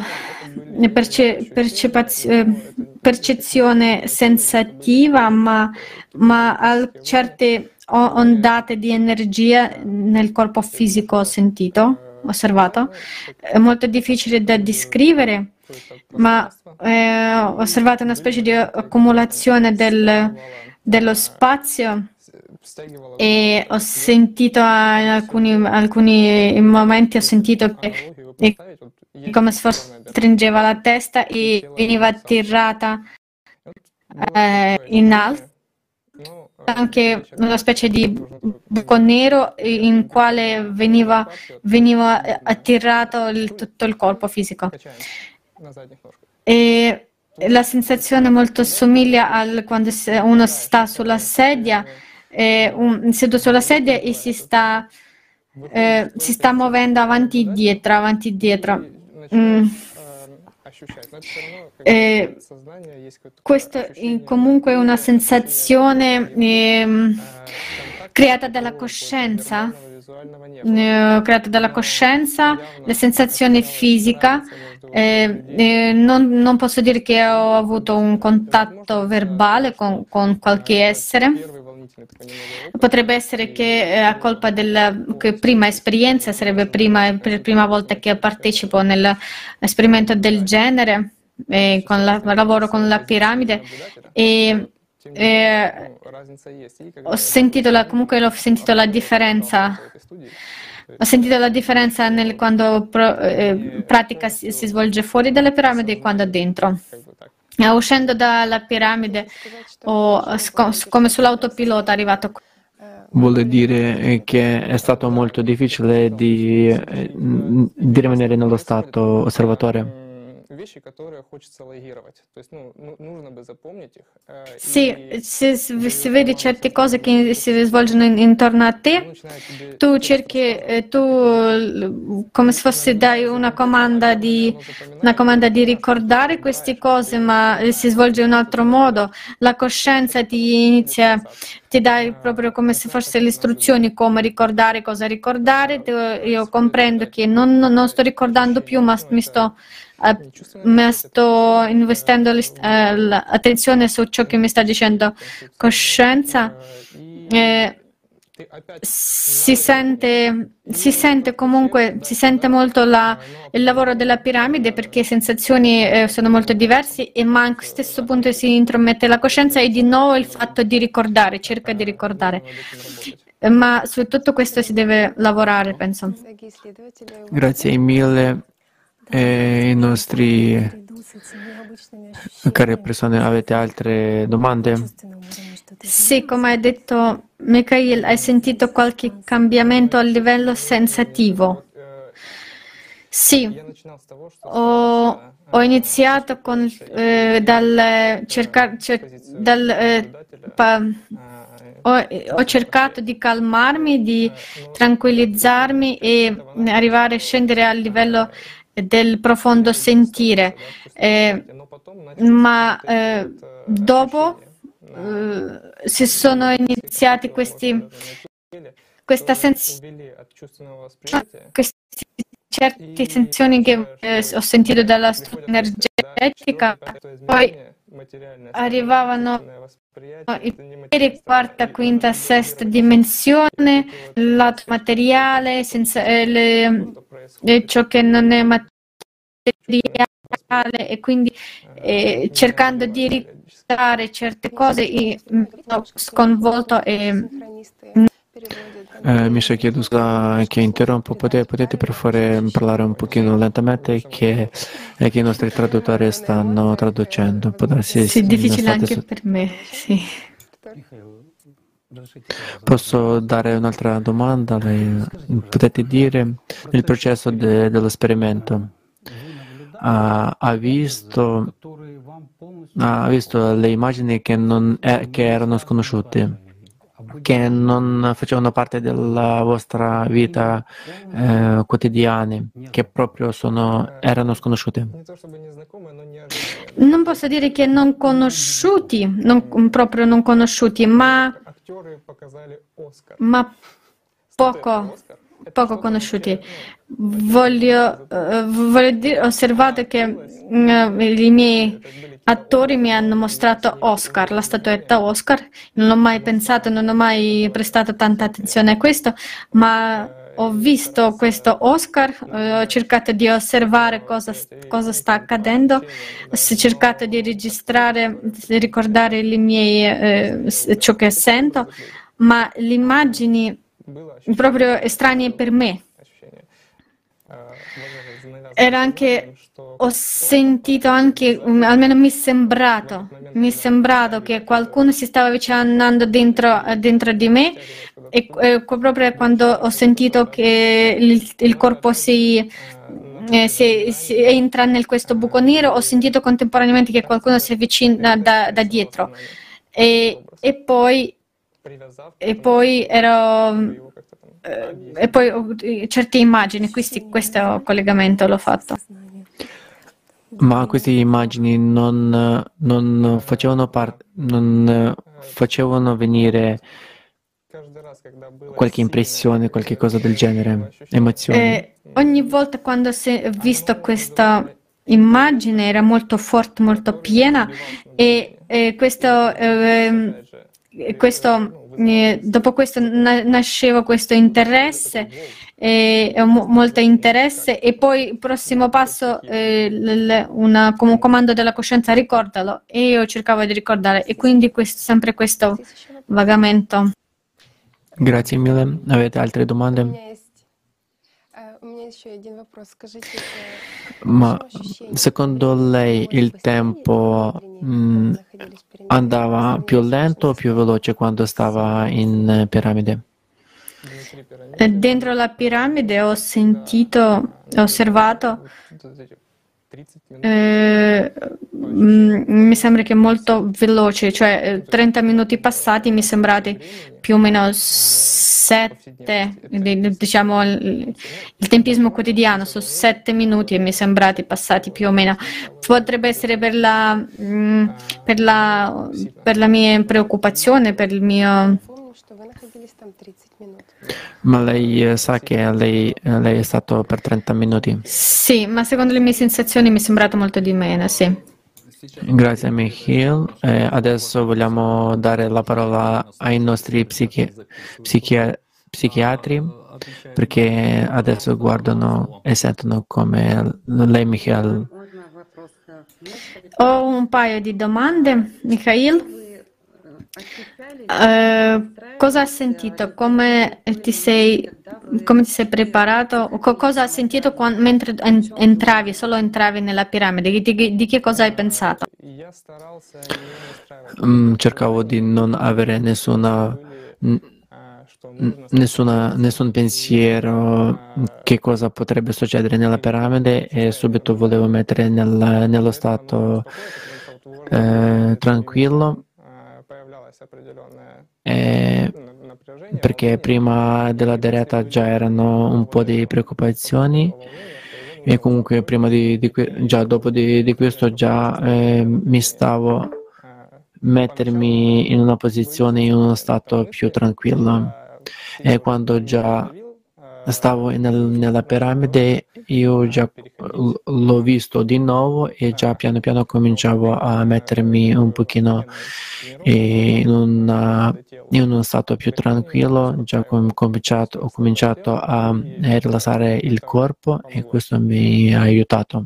[SPEAKER 3] percezione sensativa, ma certe ondate di energia nel corpo fisico osservato. È molto difficile da descrivere, ma ho osservato una specie di accumulazione dello spazio. E ho sentito in alcuni momenti, ho sentito che come se fosse stringeva la testa e veniva attirata in alto, anche una specie di buco nero in quale veniva attirato tutto il corpo fisico. E la sensazione molto somiglia a quando uno sta sulla sedia, seduto sulla sedia e si sta muovendo avanti e dietro. Questo è comunque una sensazione creata dalla coscienza, la sensazione fisica. Non posso dire che ho avuto un contatto verbale con qualche essere. Potrebbe essere che a colpa della prima esperienza, sarebbe per prima volta che partecipo nell'esperimento del genere, lavoro con la piramide e ho sentito la differenza. Ho sentito la differenza quando pratica si svolge fuori dalle piramidi e quando dentro. Uscendo dalla piramide, come sull'autopilota, arrivato qui.
[SPEAKER 2] Vuol dire che è stato molto difficile di rimanere nello stato osservatore.
[SPEAKER 3] Sì, se vedi certe cose che si svolgono intorno a te, tu cerchi, come se fosse dai una comanda di ricordare queste cose, ma si svolge in un altro modo. La coscienza ti dà proprio come se fosse le istruzioni come ricordare, cosa ricordare. Io comprendo che non sto ricordando più, ma sto investendo l'attenzione su ciò che mi sta dicendo coscienza. Si sente molto il lavoro della piramide, perché le sensazioni sono molto diverse, ma a stesso punto si intromette la coscienza e di nuovo il fatto di ricordare, cerca di ricordare. Ma su tutto questo si deve lavorare, penso.
[SPEAKER 2] Grazie mille. I nostri cari persone, avete altre domande?
[SPEAKER 3] Sì, come hai detto Mikhail, hai sentito qualche cambiamento a livello sensativo? Sì, ho iniziato ho cercato di calmarmi, di tranquillizzarmi e arrivare a scendere al livello del profondo sentire, ma dopo si sono iniziati queste certe sensazioni che ho sentito dalla struttura energetica, poi arrivavano i primi, quarta, quinta, sesta dimensione, il lato materiale, senza, ciò che non è materiale, e quindi cercando di ricordare certe cose, ho sconvolto e
[SPEAKER 2] Misha, chiedo scusa che interrompo, potete per favore parlare un pochino lentamente che i nostri traduttori stanno traducendo. Può darsi
[SPEAKER 3] sì, difficile
[SPEAKER 2] state
[SPEAKER 3] anche per me, sì.
[SPEAKER 2] Posso dare un'altra domanda? Lei potete dire nel processo dell'esperimento ha visto le immagini che erano sconosciute, che non facevano parte della vostra vita quotidiana, che proprio erano sconosciute?
[SPEAKER 3] Non posso dire che non conosciuti, proprio non conosciuti, ma poco conosciuti. Voglio dire, ho osservato che i miei attori mi hanno mostrato Oscar, la statuetta Oscar. Non ho mai pensato, non ho mai prestato tanta attenzione a questo, ma ho visto questo Oscar, ho cercato di osservare cosa sta accadendo, ho cercato di registrare, di ricordare ciò che sento, ma le immagini proprio estranee per me. Ho sentito anche, almeno mi è sembrato che qualcuno si stava avvicinando dentro di me, e proprio quando ho sentito che il corpo entra in questo buco nero, ho sentito contemporaneamente che qualcuno si avvicina da dietro, e poi certe immagini, questo collegamento l'ho fatto.
[SPEAKER 2] Ma queste immagini non facevano venire qualche impressione, qualche cosa del genere, emozioni?
[SPEAKER 3] Ogni volta quando ho visto questa immagine era molto forte, molto piena, e dopo questo nasceva questo interesse, molto interesse, e poi il prossimo passo, come un comando della coscienza, ricordalo, e io cercavo di ricordare, e quindi sempre questo vagamento.
[SPEAKER 2] Grazie mille. Avete altre domande? Ma secondo lei il tempo andava più lento o più veloce quando stava in piramide?
[SPEAKER 3] Dentro la piramide ho osservato, mi sembra che è molto veloce, cioè 30 minuti passati mi sembrati più o meno 7, diciamo il tempismo quotidiano su 7 minuti, e mi sembrati passati più o meno. Potrebbe essere per la mia preoccupazione, per il mio...
[SPEAKER 2] Ma lei sa che lei è stato per 30 minuti?
[SPEAKER 3] Sì, ma secondo le mie sensazioni mi è sembrato molto di meno, sì.
[SPEAKER 2] Grazie Michiel. Adesso vogliamo dare la parola ai nostri psichiatri, perché adesso guardano e sentono come lei, Michiel.
[SPEAKER 3] Ho un paio di domande, Mikhail. Cosa hai sentito? Come ti sei preparato? Cosa hai sentito mentre solo entravi nella piramide? Di che cosa hai pensato?
[SPEAKER 2] Cercavo di non avere nessun pensiero che cosa potrebbe succedere nella piramide, e subito volevo mettere nello stato tranquillo, perché prima della diretta già erano un po' di preoccupazioni, E comunque prima già dopo di questo già mi stavo mettermi in una posizione, in uno stato più tranquillo. E quando già stavo nella piramide, io già l'ho visto di nuovo e già piano piano cominciavo a mettermi un pochino in uno stato più tranquillo, già ho cominciato a rilassare il corpo e questo mi ha aiutato.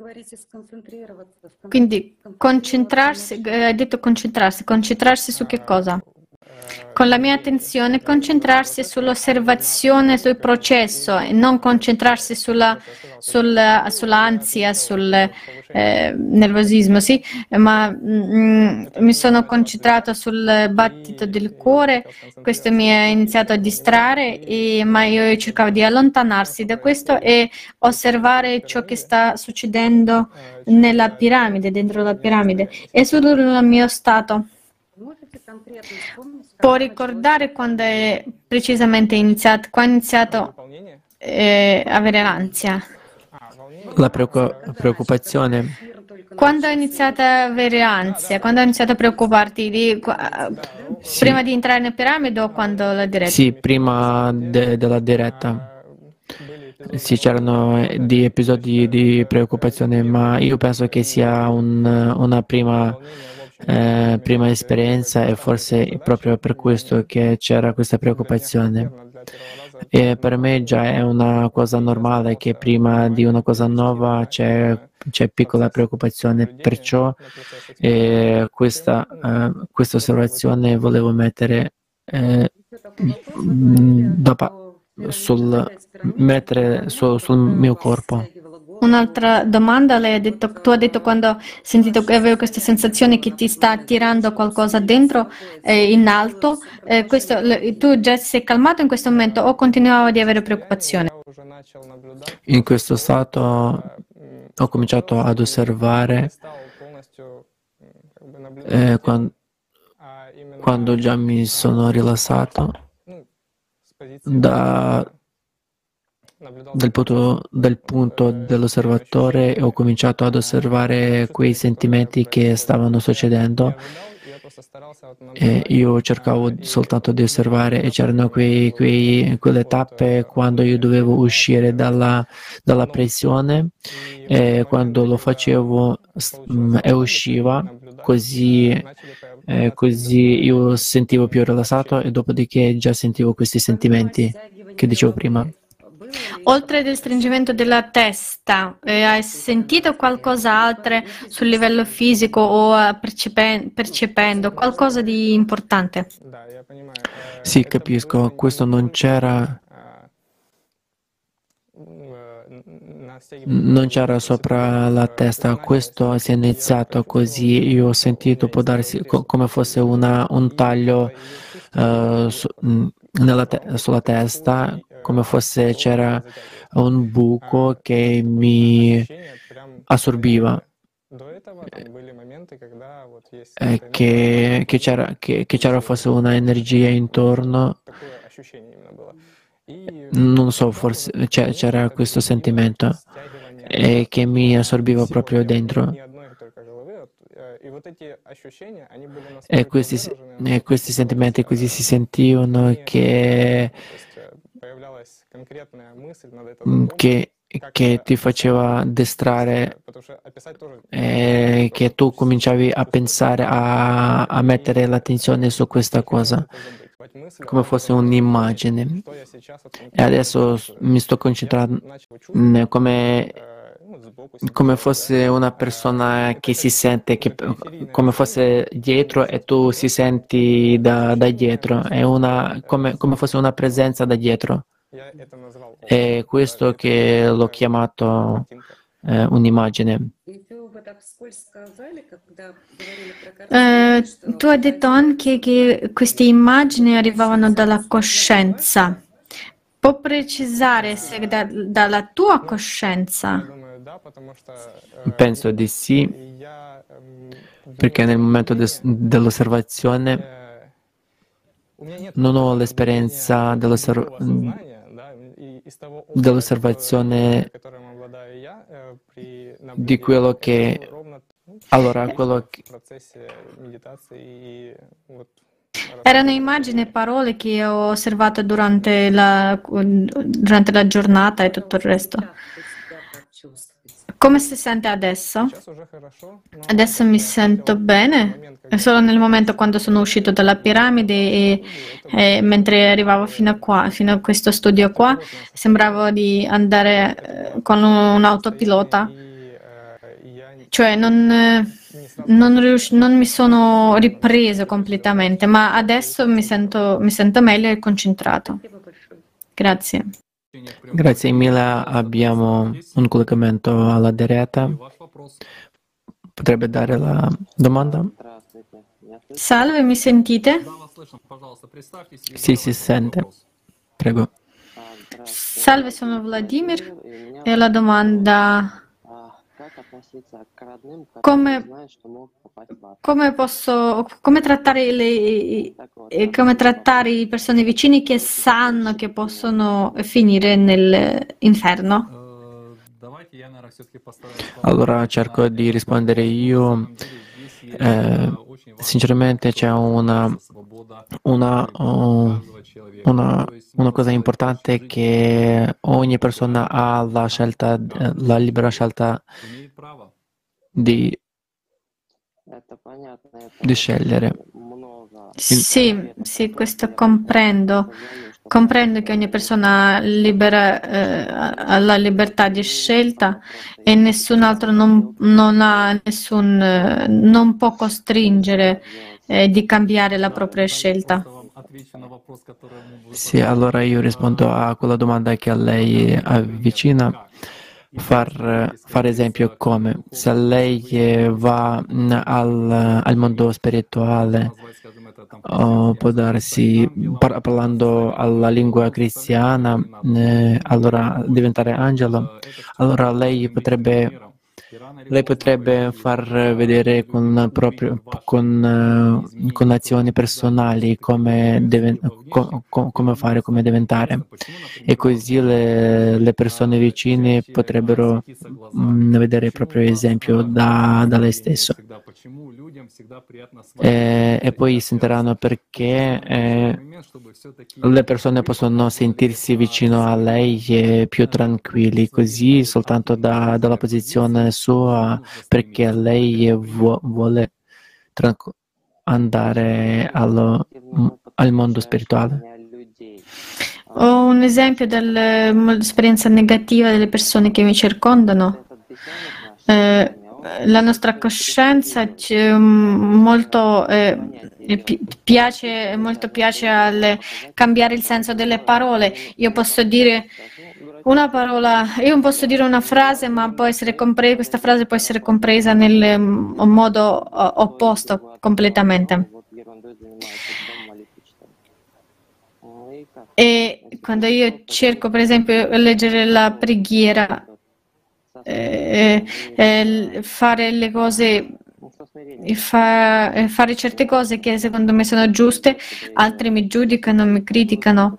[SPEAKER 3] Quindi concentrarsi, hai detto concentrarsi su che cosa? Con la mia attenzione concentrarsi sull'osservazione, sul processo e non concentrarsi sull'ansia, sul nervosismo, sì, ma mi sono concentrato sul battito del cuore, questo mi ha iniziato a distrarre, ma io cercavo di allontanarsi da questo e osservare ciò che sta succedendo nella piramide, dentro la piramide e sul mio stato. Può ricordare quando è precisamente iniziato, quando ha iniziato a avere l'ansia?
[SPEAKER 2] La preoccupazione.
[SPEAKER 3] Quando hai iniziato a avere ansia? Quando hai iniziato a preoccuparti?
[SPEAKER 2] Sì.
[SPEAKER 3] Prima di entrare nella piramide o quando la diretta?
[SPEAKER 2] Sì, prima della diretta. Sì, c'erano di episodi di preoccupazione, ma io penso che sia una prima esperienza e forse è proprio per questo che c'era questa preoccupazione. E per me già è una cosa normale che prima di una cosa nuova c'è piccola preoccupazione, perciò questa osservazione volevo mettere mettere sul mio corpo.
[SPEAKER 3] Un'altra domanda, tu hai detto quando hai sentito che avevo questa sensazione che ti sta tirando qualcosa dentro in alto, tu già sei calmato in questo momento o continuavo di avere preoccupazione?
[SPEAKER 2] In questo stato ho cominciato ad osservare quando già mi sono rilassato dal punto dell'osservatore ho cominciato ad osservare quei sentimenti che stavano succedendo e io cercavo soltanto di osservare e c'erano quelle tappe quando io dovevo uscire dalla pressione e quando lo facevo e usciva così io sentivo più rilassato e dopodiché già sentivo questi sentimenti che dicevo prima.
[SPEAKER 3] Oltre al stringimento della testa, hai sentito qualcos'altro sul livello fisico o percependo qualcosa di importante?
[SPEAKER 2] Sì, capisco, questo non c'era sopra la testa, questo si è iniziato così, io ho sentito, può darsi come fosse un taglio sulla testa, come fosse c'era un buco che mi assorbiva, che c'era forse una energia intorno, non so, forse c'era questo sentimento che mi assorbiva proprio dentro. E questi sentimenti così si sentivano che ti faceva distrarre, che tu cominciavi a pensare, a mettere l'attenzione su questa cosa, come fosse un'immagine. E adesso mi sto concentrando come fosse una persona che si sente, come fosse dietro e tu si senti da dietro, è come fosse una presenza da dietro. È questo che l'ho chiamato un'immagine.
[SPEAKER 3] Tu hai detto anche che queste immagini arrivavano dalla coscienza. Può precisare se dalla tua coscienza?
[SPEAKER 2] Penso di sì, perché nel momento dell'osservazione non ho l'esperienza dell'osservazione di quello che... Allora, quello che...
[SPEAKER 3] Erano immagini e parole che ho osservato durante la giornata e tutto il resto. Come si sente adesso? Adesso mi sento bene. È solo nel momento quando sono uscito dalla piramide e mentre arrivavo fino a qua, fino a questo studio qua, sembrava di andare con un autopilota. Cioè non mi sono ripreso completamente, ma adesso mi sento meglio e concentrato. Grazie.
[SPEAKER 2] Grazie mille, abbiamo un collegamento alla diretta. Potrebbe dare la domanda?
[SPEAKER 3] Salve, mi sentite?
[SPEAKER 2] Sì, si sente. Prego.
[SPEAKER 3] Salve, sono Vladimir e la domanda... Come trattare i persone vicine che sanno che possono finire nell'inferno?
[SPEAKER 2] Allora cerco di rispondere io. Sinceramente c'è una cosa importante, che ogni persona ha la scelta, la libera scelta di scegliere.
[SPEAKER 3] Sì, questo comprendo. Comprendo che ogni persona ha la libertà di scelta e nessun altro non può costringere di cambiare la propria scelta.
[SPEAKER 2] Sì, allora io rispondo a quella domanda che a lei avvicina. Fare esempio come se lei va al mondo spirituale, può darsi, parlando alla lingua cristiana, allora diventare angelo, allora lei potrebbe far vedere con azioni personali come fare, come diventare, e così le persone vicine potrebbero vedere il proprio esempio da lei stesso, e poi sentiranno perché le persone possono sentirsi vicino a lei più tranquilli, così soltanto dalla posizione sua, perché lei vuole andare al mondo spirituale.
[SPEAKER 3] Ho un esempio dell'esperienza negativa delle persone che mi circondano. La nostra coscienza piace al cambiare il senso delle parole. Io posso dire una parola, io posso dire una frase, ma questa frase può essere compresa nel modo opposto completamente. E quando io cerco, per esempio, leggere la preghiera, fare le cose, fare certe cose che secondo me sono giuste, altri mi giudicano, mi criticano.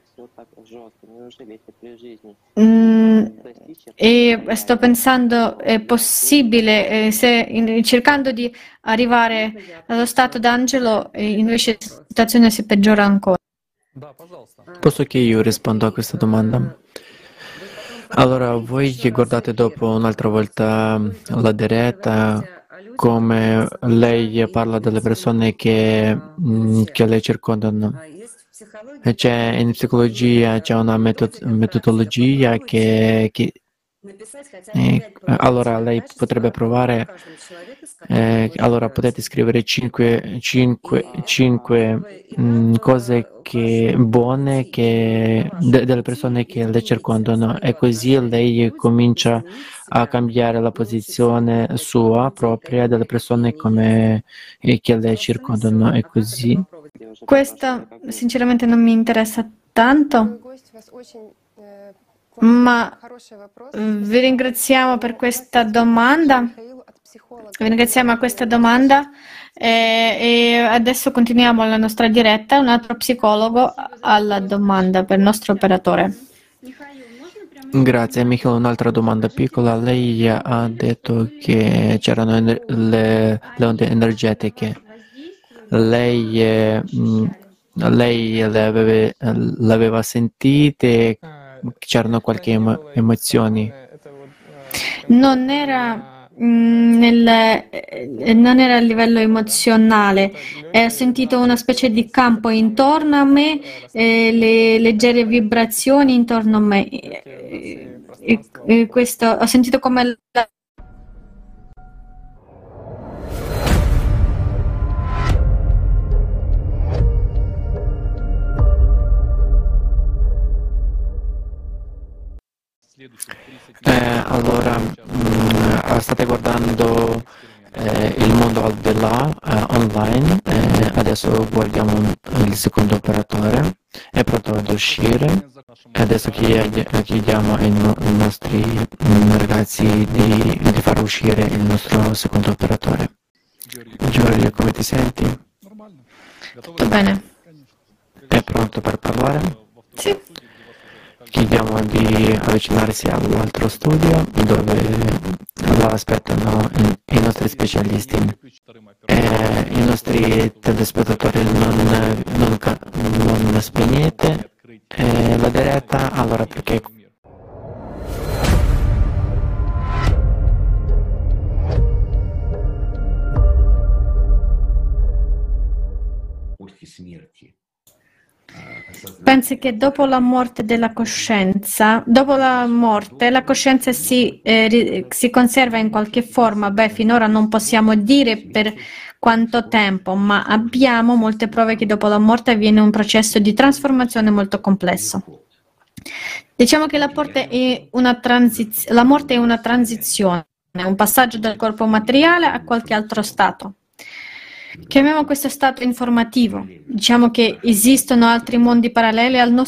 [SPEAKER 3] E sto pensando, è possibile, cercando di arrivare allo stato d'angelo, invece la situazione si peggiora ancora.
[SPEAKER 2] Posso che io rispondo a questa domanda? Allora, voi che guardate dopo un'altra volta la diretta, come lei parla delle persone che le circondano. In psicologia c'è una metodologia che allora lei potrebbe provare, allora potete scrivere 5 cose buone delle persone che le circondano, e così lei comincia a cambiare la posizione sua propria delle persone che le circondano, e così.
[SPEAKER 3] Questo sinceramente non mi interessa tanto, ma vi ringraziamo per questa domanda. Vi ringraziamo a questa domanda e adesso continuiamo la nostra diretta. Un altro psicologo alla domanda per il nostro operatore.
[SPEAKER 2] Grazie, Michele. Un'altra domanda piccola. Lei ha detto che c'erano le onde energetiche. Lei le aveva sentite? C'erano qualche emozioni?
[SPEAKER 3] Non era, non era a livello emozionale, ho sentito una specie di campo intorno a me, le leggere vibrazioni intorno a me. Questo, ho sentito come
[SPEAKER 2] Allora, state guardando il mondo al di là online. Adesso guardiamo il secondo operatore. È pronto ad uscire. Adesso chiediamo ai nostri ragazzi di far uscire il nostro secondo operatore. Giorgio, come ti senti?
[SPEAKER 3] tutto bene.
[SPEAKER 2] È pronto per parlare?
[SPEAKER 3] Sì.
[SPEAKER 2] Chiediamo di avvicinarsi all'altro studio dove lo aspettano i nostri specialisti. I nostri telespettatori non spegnete la diretta, allora perché
[SPEAKER 3] Pensi che dopo la morte della coscienza, dopo la morte, la coscienza si conserva in qualche forma? Beh, finora non possiamo dire per quanto tempo, ma abbiamo molte prove che dopo la morte avviene un processo di trasformazione molto complesso. Diciamo che la morte è una transizione, un passaggio dal corpo materiale a qualche altro stato. Chiamiamo questo stato informativo. Diciamo che esistono altri mondi paralleli al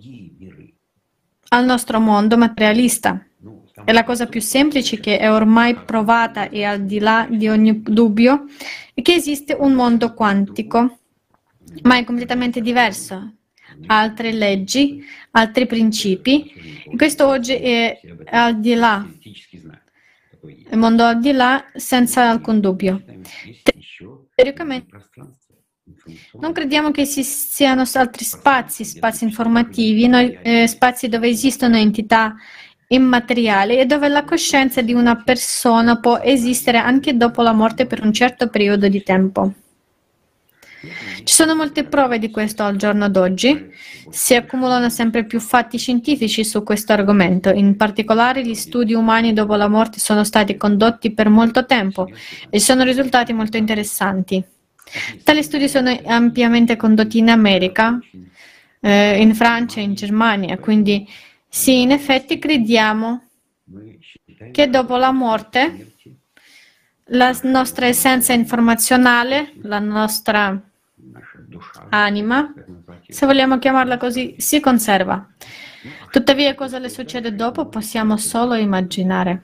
[SPEAKER 3] nostro mondo materialista. È la cosa più semplice che è ormai provata e al di là di ogni dubbio è che esiste un mondo quantico, ma è completamente diverso. Altre leggi, altri principi. E questo oggi è al di là, il mondo al di là senza alcun dubbio. Teoricamente non crediamo che ci siano altri spazi informativi, spazi dove esistono entità immateriali e dove la coscienza di una persona può esistere anche dopo la morte per un certo periodo di tempo. Ci sono molte prove di questo al giorno d'oggi. Si accumulano sempre più fatti scientifici su questo argomento. In particolare, gli studi umani dopo la morte sono stati condotti per molto tempo e sono risultati molto interessanti. Tali studi sono ampiamente condotti in America, in Francia e in Germania. Quindi, sì, in effetti crediamo che dopo la morte la nostra essenza informazionale, la nostra anima, se vogliamo chiamarla così, si conserva. Tuttavia, cosa le succede dopo possiamo solo immaginare.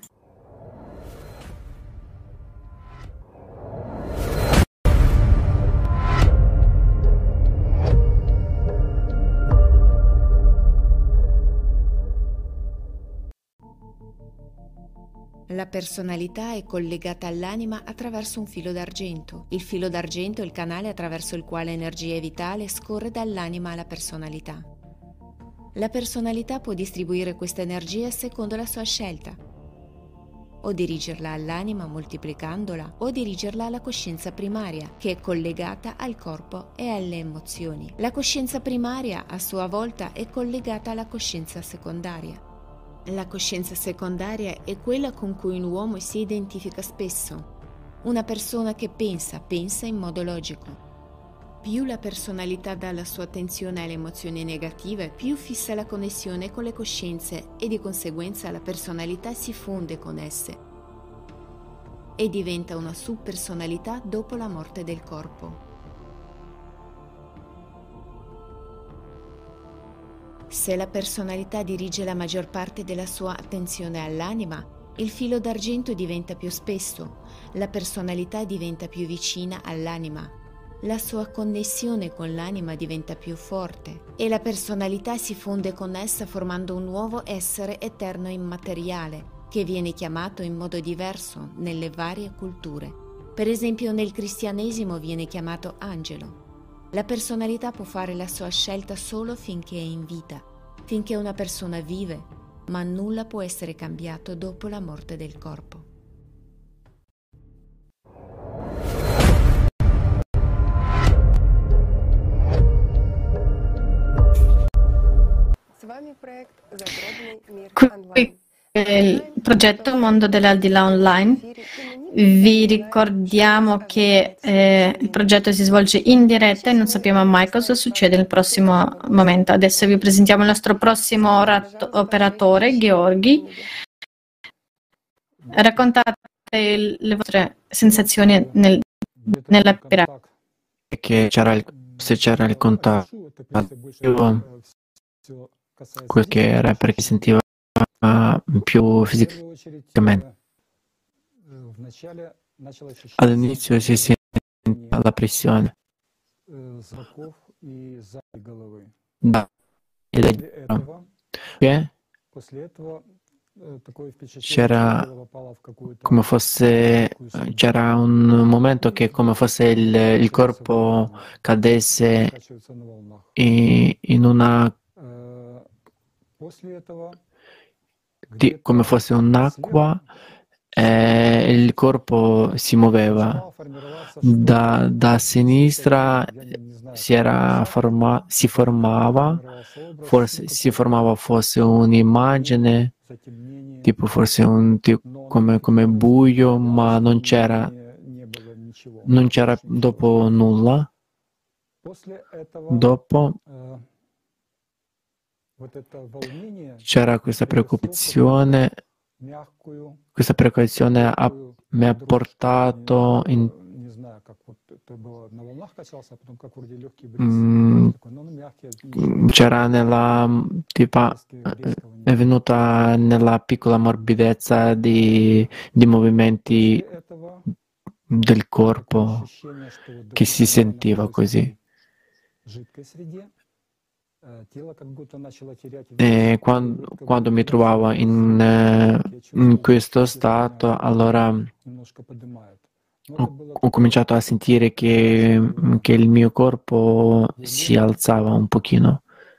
[SPEAKER 5] La personalità è collegata all'anima attraverso un filo d'argento. Il filo d'argento è il canale attraverso il quale energia vitale scorre dall'anima alla personalità. La personalità può distribuire questa energia secondo la sua scelta, o dirigerla all'anima moltiplicandola, o dirigerla alla coscienza primaria, che è collegata al corpo e alle emozioni. La coscienza primaria, a sua volta, è collegata alla coscienza secondaria. La coscienza secondaria è quella con cui un uomo si identifica spesso. Una persona che pensa in modo logico. Più la personalità dà la sua attenzione alle emozioni negative, più fissa la connessione con le coscienze e di conseguenza la personalità si fonde con esse e diventa una subpersonalità dopo la morte del corpo. Se la personalità dirige la maggior parte della sua attenzione all'anima, il filo d'argento diventa più spesso, la personalità diventa più vicina all'anima. la sua connessione con l'anima diventa più forte e la personalità si fonde con essa formando un nuovo essere eterno e immateriale che viene chiamato in modo diverso nelle varie culture. Per esempio nel cristianesimo viene chiamato angelo. La personalità può fare la sua scelta solo finché è in vita, finché una persona vive, ma nulla può essere cambiato dopo la morte del corpo.
[SPEAKER 3] Qui il progetto Mondo dell'Aldilà Online. Vi ricordiamo che il progetto si svolge in diretta e non sappiamo mai cosa succede nel prossimo momento. Adesso vi presentiamo il nostro prossimo operatore, Gheorghi. Raccontate le vostre sensazioni nella piramide.
[SPEAKER 2] Che se c'era il contatto, quel che era perché sentiva più fisicamente. All'inizio si sentiva la pressione da che c'era un momento che come fosse il corpo cadesse in una come fosse un'acqua e il corpo si muoveva da sinistra si formava forse un'immagine tipo forse come buio, ma non c'era dopo nulla. Dopo c'era questa preoccupazione mi ha portato c'era è venuta nella piccola morbidezza di movimenti del corpo che si sentiva così. E quando mi trovavo in questo stato, allora ho cominciato a sentire che il mio corpo si alzava un pochino.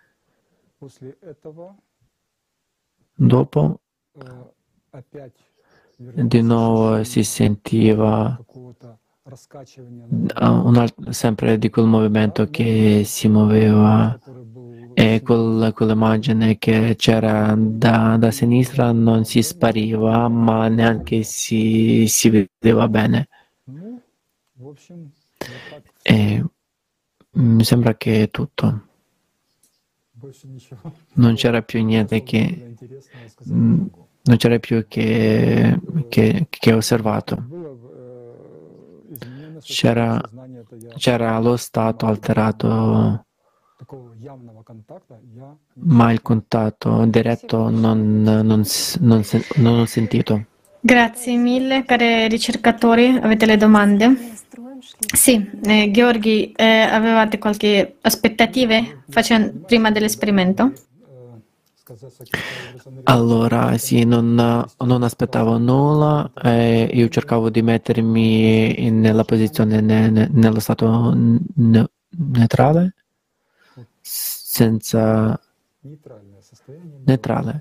[SPEAKER 2] Dopo, di nuovo si sentiva sempre di quel movimento che si muoveva e quell'immagine che c'era da sinistra non si spariva, ma neanche si vedeva bene. E mi sembra che è tutto. Non c'era più niente non c'era più che ho osservato. C'era lo stato alterato, ma il contatto diretto non ho sentito.
[SPEAKER 3] Grazie mille, cari ricercatori. Avete le domande? Sì, Gheorghi, avevate qualche aspettative prima dell'esperimento?
[SPEAKER 2] Allora, sì, non aspettavo nulla, io cercavo di mettermi nella posizione, nello stato neutrale, neutrale,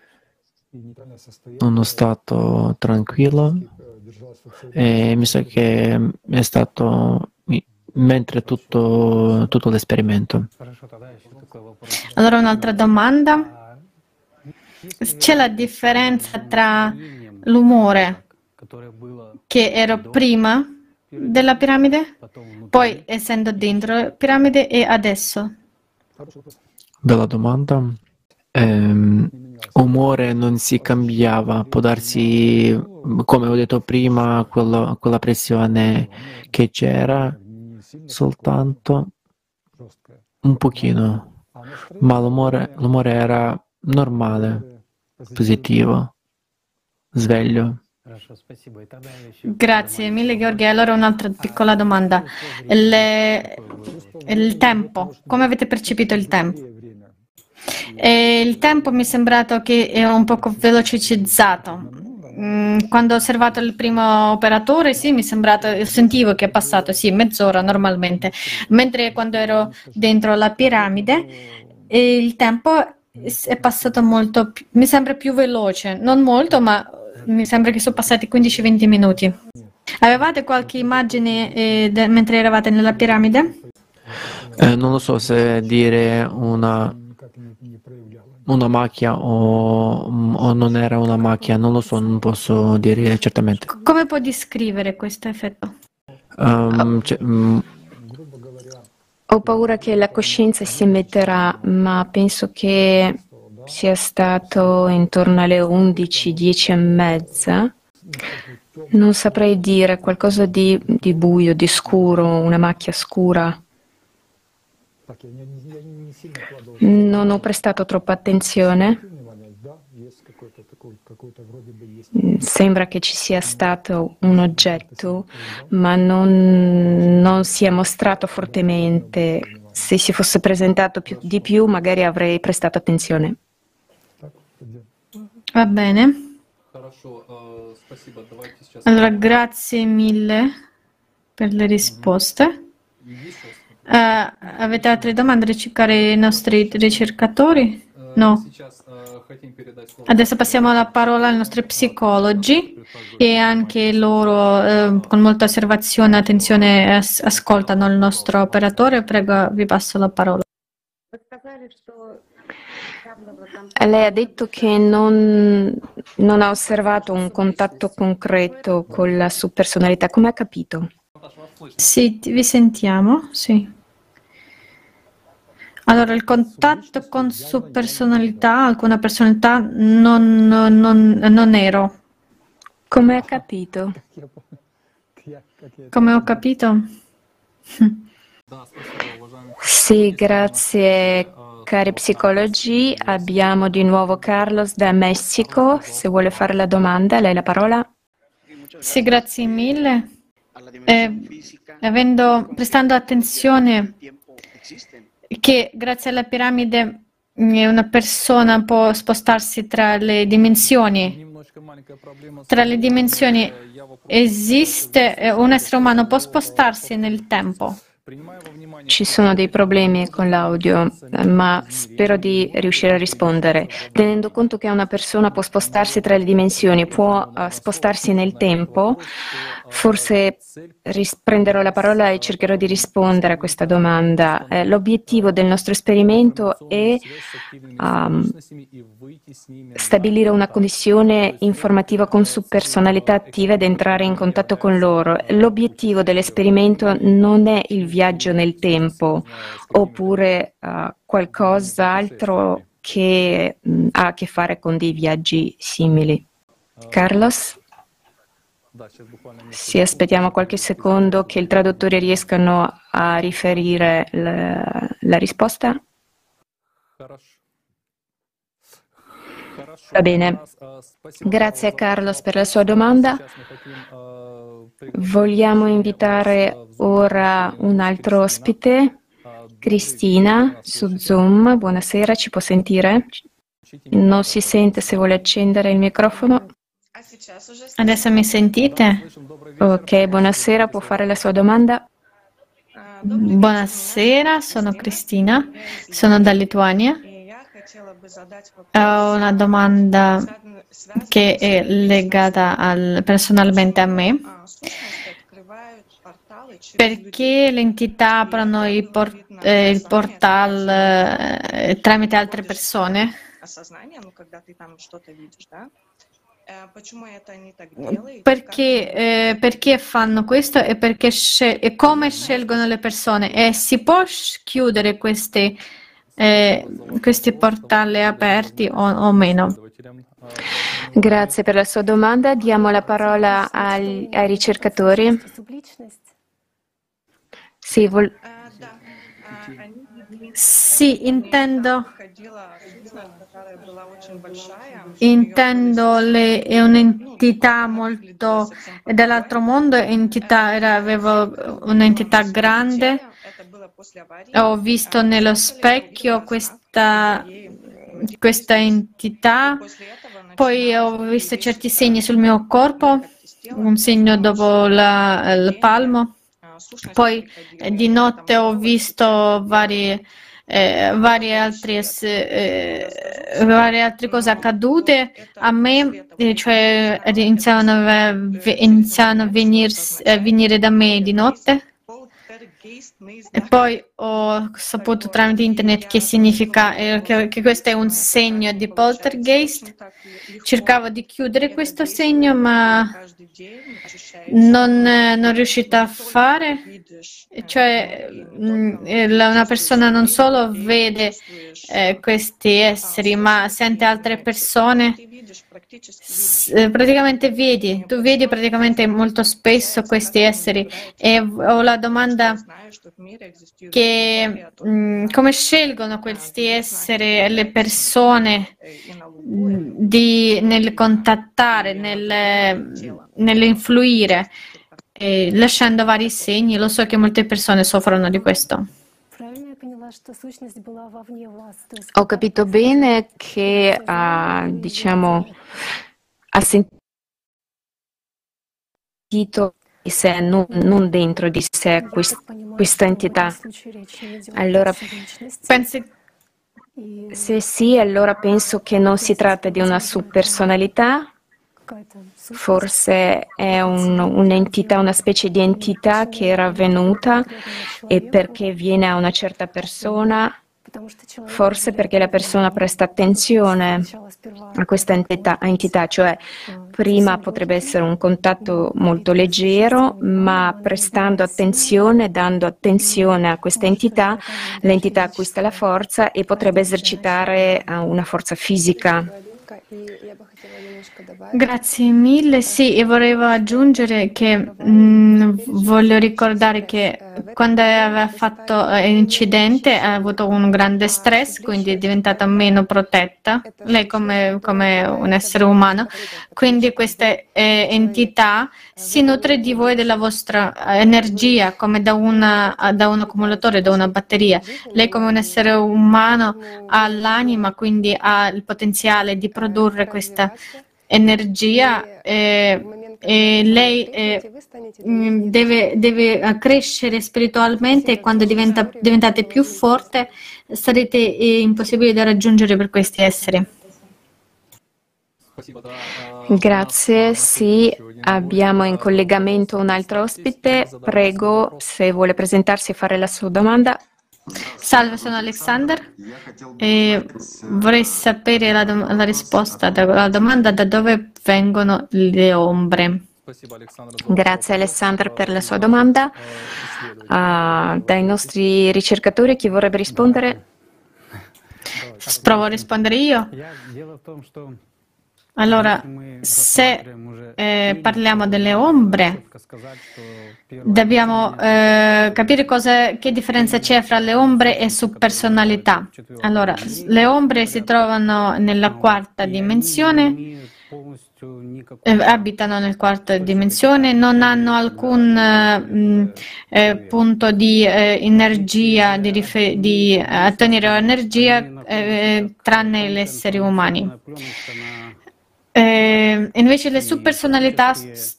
[SPEAKER 2] uno stato tranquillo, e mi sa che è stato mentre tutto l'esperimento.
[SPEAKER 3] Allora, un'altra domanda. C'è la differenza tra l'umore che ero prima della piramide, poi essendo dentro la piramide e adesso?
[SPEAKER 2] Bella domanda. Umore non si cambiava, può darsi, come ho detto prima, quella pressione che c'era soltanto un pochino, ma l'umore era normale, positivo, sveglio.
[SPEAKER 3] Grazie mille, Gheorghe. Allora un'altra piccola domanda. Il tempo, come avete percepito il tempo? Il tempo mi è sembrato che è un poco velocizzato. Quando ho osservato il primo operatore, sì, mi è sembrato, sentivo che è passato, sì, mezz'ora normalmente, mentre quando ero dentro la piramide, il tempo è passato molto, mi sembra più veloce, non molto, ma mi sembra che sono passati 15-20 minuti. Avevate qualche immagine mentre eravate nella piramide?
[SPEAKER 2] Non lo so se dire una macchia o non era una macchia, non lo so, non posso dire certamente.
[SPEAKER 3] Come puoi descrivere questo effetto?
[SPEAKER 6] Ho paura che la coscienza si emetterà, ma penso che sia stato intorno alle 11, 10 e mezza. Non saprei dire, qualcosa di buio, di scuro, una macchia scura. Non ho prestato troppa attenzione. Sembra che ci sia stato un oggetto, ma non si è mostrato fortemente. Se si fosse presentato di più, magari avrei prestato attenzione.
[SPEAKER 3] Va bene. Allora, grazie mille per le risposte. Avete altre domande da cercare i nostri ricercatori? No. Adesso passiamo la parola ai nostri psicologi e anche loro con molta osservazione e attenzione ascoltano il nostro operatore. Prego, vi passo la parola.
[SPEAKER 6] Lei ha detto che non ha osservato un contatto concreto con la sua personalità. Come ha capito?
[SPEAKER 3] Sì, vi sentiamo, sì. Allora, il contatto con sua personalità, alcuna personalità, non ero.
[SPEAKER 6] Come ha capito?
[SPEAKER 3] Come ho capito?
[SPEAKER 6] Sì, grazie cari psicologi. Abbiamo di nuovo Carlos da Messico. Se vuole fare la domanda, lei la parola.
[SPEAKER 3] Sì, grazie mille. Prestando attenzione che grazie alla piramide una persona può spostarsi tra le dimensioni. Tra le dimensioni esiste, un essere umano può spostarsi nel tempo.
[SPEAKER 6] Ci sono dei problemi con l'audio, ma spero di riuscire a rispondere. Tenendo conto che una persona può spostarsi tra le dimensioni, può spostarsi nel tempo, forse prenderò la parola e cercherò di rispondere a questa domanda. L'obiettivo del nostro esperimento è stabilire una connessione informativa con su personalità attive ed entrare in contatto con loro. L'obiettivo dell'esperimento non è il viaggio nel tempo oppure qualcos'altro che ha a che fare con dei viaggi simili. Carlos? Sì, aspettiamo qualche secondo che il traduttore riescano a riferire la risposta. Va bene. Grazie a Carlos per la sua domanda. Vogliamo invitare ora un altro ospite, Cristina, su Zoom. Buonasera, ci può sentire? Non si sente, se vuole accendere il microfono.
[SPEAKER 3] Adesso mi sentite?
[SPEAKER 6] Ok, buonasera, può fare la sua domanda?
[SPEAKER 3] Buonasera, sono Cristina, sono da Lituania. Ho una domanda che è legata personalmente a me. Perché le entità aprono il portal tramite altre persone? Perché fanno questo e come scelgono le persone? E si può chiudere questi portali aperti o meno?
[SPEAKER 6] Grazie per la sua domanda. Diamo la parola ai ricercatori. Sì,
[SPEAKER 3] Sì, intendo è un'entità molto dall'altro mondo, avevo un'entità grande. Ho visto nello specchio questa entità, poi ho visto certi segni sul mio corpo, un segno dopo il palmo. Poi di notte ho visto varie altre cose accadute a me, cioè iniziano a venire da me di notte. E poi ho saputo tramite internet che significa che questo è un segno di poltergeist. Cercavo di chiudere questo segno, ma non riuscita a fare. Cioè, una persona non solo vede questi esseri, ma sente altre persone. Praticamente tu vedi praticamente molto spesso questi esseri. E ho la domanda che come scelgono questi esseri le persone nel contattare, nell'influire, lasciando vari segni. Lo so che molte persone soffrono di questo.
[SPEAKER 6] Ho capito bene che diciamo ha sentito di sé, non dentro di sé questa entità. Allora, se sì, allora penso che non si tratta di una subpersonalità, forse è un'entità, una specie di entità che era venuta e perché viene a una certa persona, forse perché la persona presta attenzione a questa entità, cioè prima potrebbe essere un contatto molto leggero, ma prestando attenzione, dando attenzione a questa entità, l'entità acquista la forza e potrebbe esercitare una forza fisica.
[SPEAKER 3] Grazie mille. Sì, e volevo aggiungere che voglio ricordare che quando aveva fatto l'incidente ha avuto un grande stress, quindi è diventata meno protetta, lei come un essere umano. Quindi questa entità si nutre di voi e della vostra energia, come da un accumulatore, da una batteria. Lei come un essere umano ha l'anima, quindi ha il potenziale di produrre questa energia e lei deve crescere spiritualmente e quando diventate più forte sarete impossibili da raggiungere per questi esseri.
[SPEAKER 6] Grazie, sì, abbiamo in collegamento un altro ospite. Prego, se vuole presentarsi e fare la sua domanda.
[SPEAKER 3] Salve, sono Alexander e vorrei sapere la risposta alla domanda: da dove vengono le ombre?
[SPEAKER 6] Grazie Alexander per la sua domanda. Dai nostri ricercatori chi vorrebbe rispondere?
[SPEAKER 3] Provo a rispondere io. Allora, se parliamo delle ombre, dobbiamo capire che differenza c'è fra le ombre e subpersonalità. Allora, le ombre si trovano nella quarta dimensione, abitano nella quarta dimensione, non hanno alcun punto di energia, di ottenere energia, tranne gli esseri umani. Invece le subpersonalità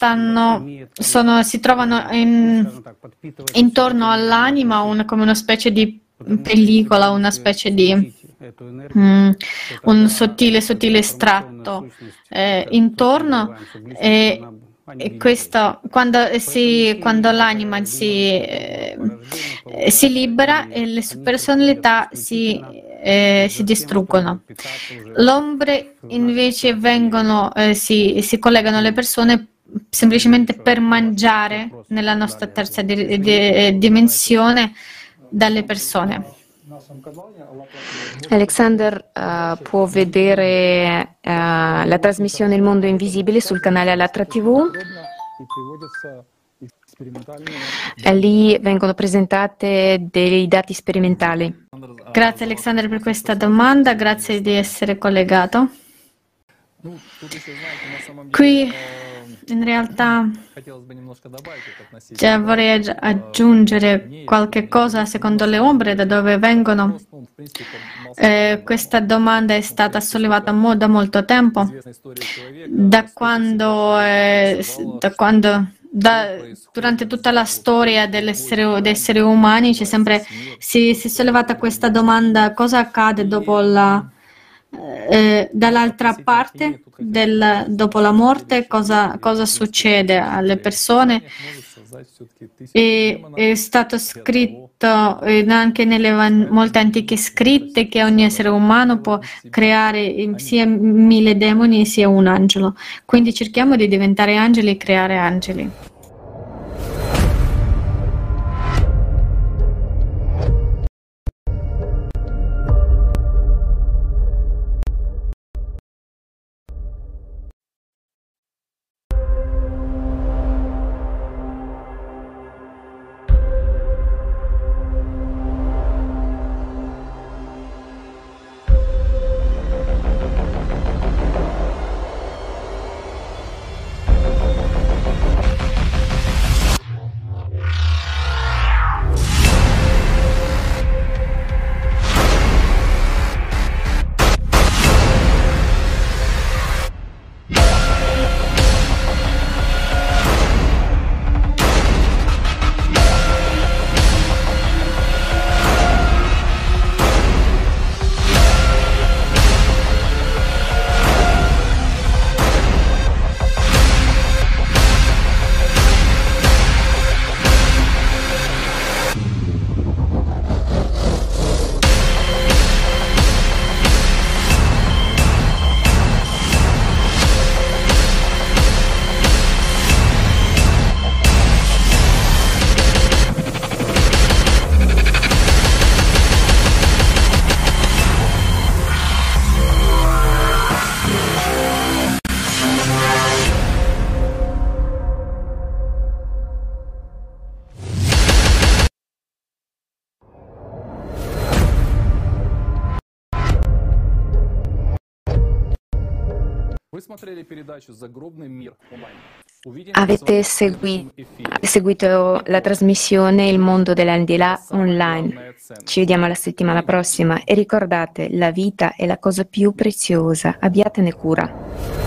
[SPEAKER 3] si trovano intorno all'anima come una specie di pellicola, una specie di un sottile estratto intorno e questo quando l'anima si libera e le subpersonalità si distruggono. L'ombre invece si collegano alle persone semplicemente per mangiare nella nostra terza dimensione dalle persone.
[SPEAKER 6] Alexander può vedere la trasmissione Il Mondo Invisibile sul canale Allatra TV. Lì vengono presentate dei dati sperimentali.
[SPEAKER 3] Grazie Alexander per questa domanda, grazie di essere collegato. Qui in realtà vorrei aggiungere qualche cosa secondo le ombre da dove vengono. Questa domanda è stata sollevata da molto tempo, durante tutta la storia degli esseri umani si è sollevata questa domanda: cosa accade dopo dall'altra parte, dopo la morte, cosa succede alle persone? È stato scritto anche nelle molte antiche scritte che ogni essere umano può creare sia 1000 demoni sia un angelo. Quindi cerchiamo di diventare angeli e creare angeli.
[SPEAKER 6] Avete seguito la trasmissione Il mondo dell'aldilà online. Ci vediamo la settimana prossima e ricordate, la vita è la cosa più preziosa, abbiatene cura.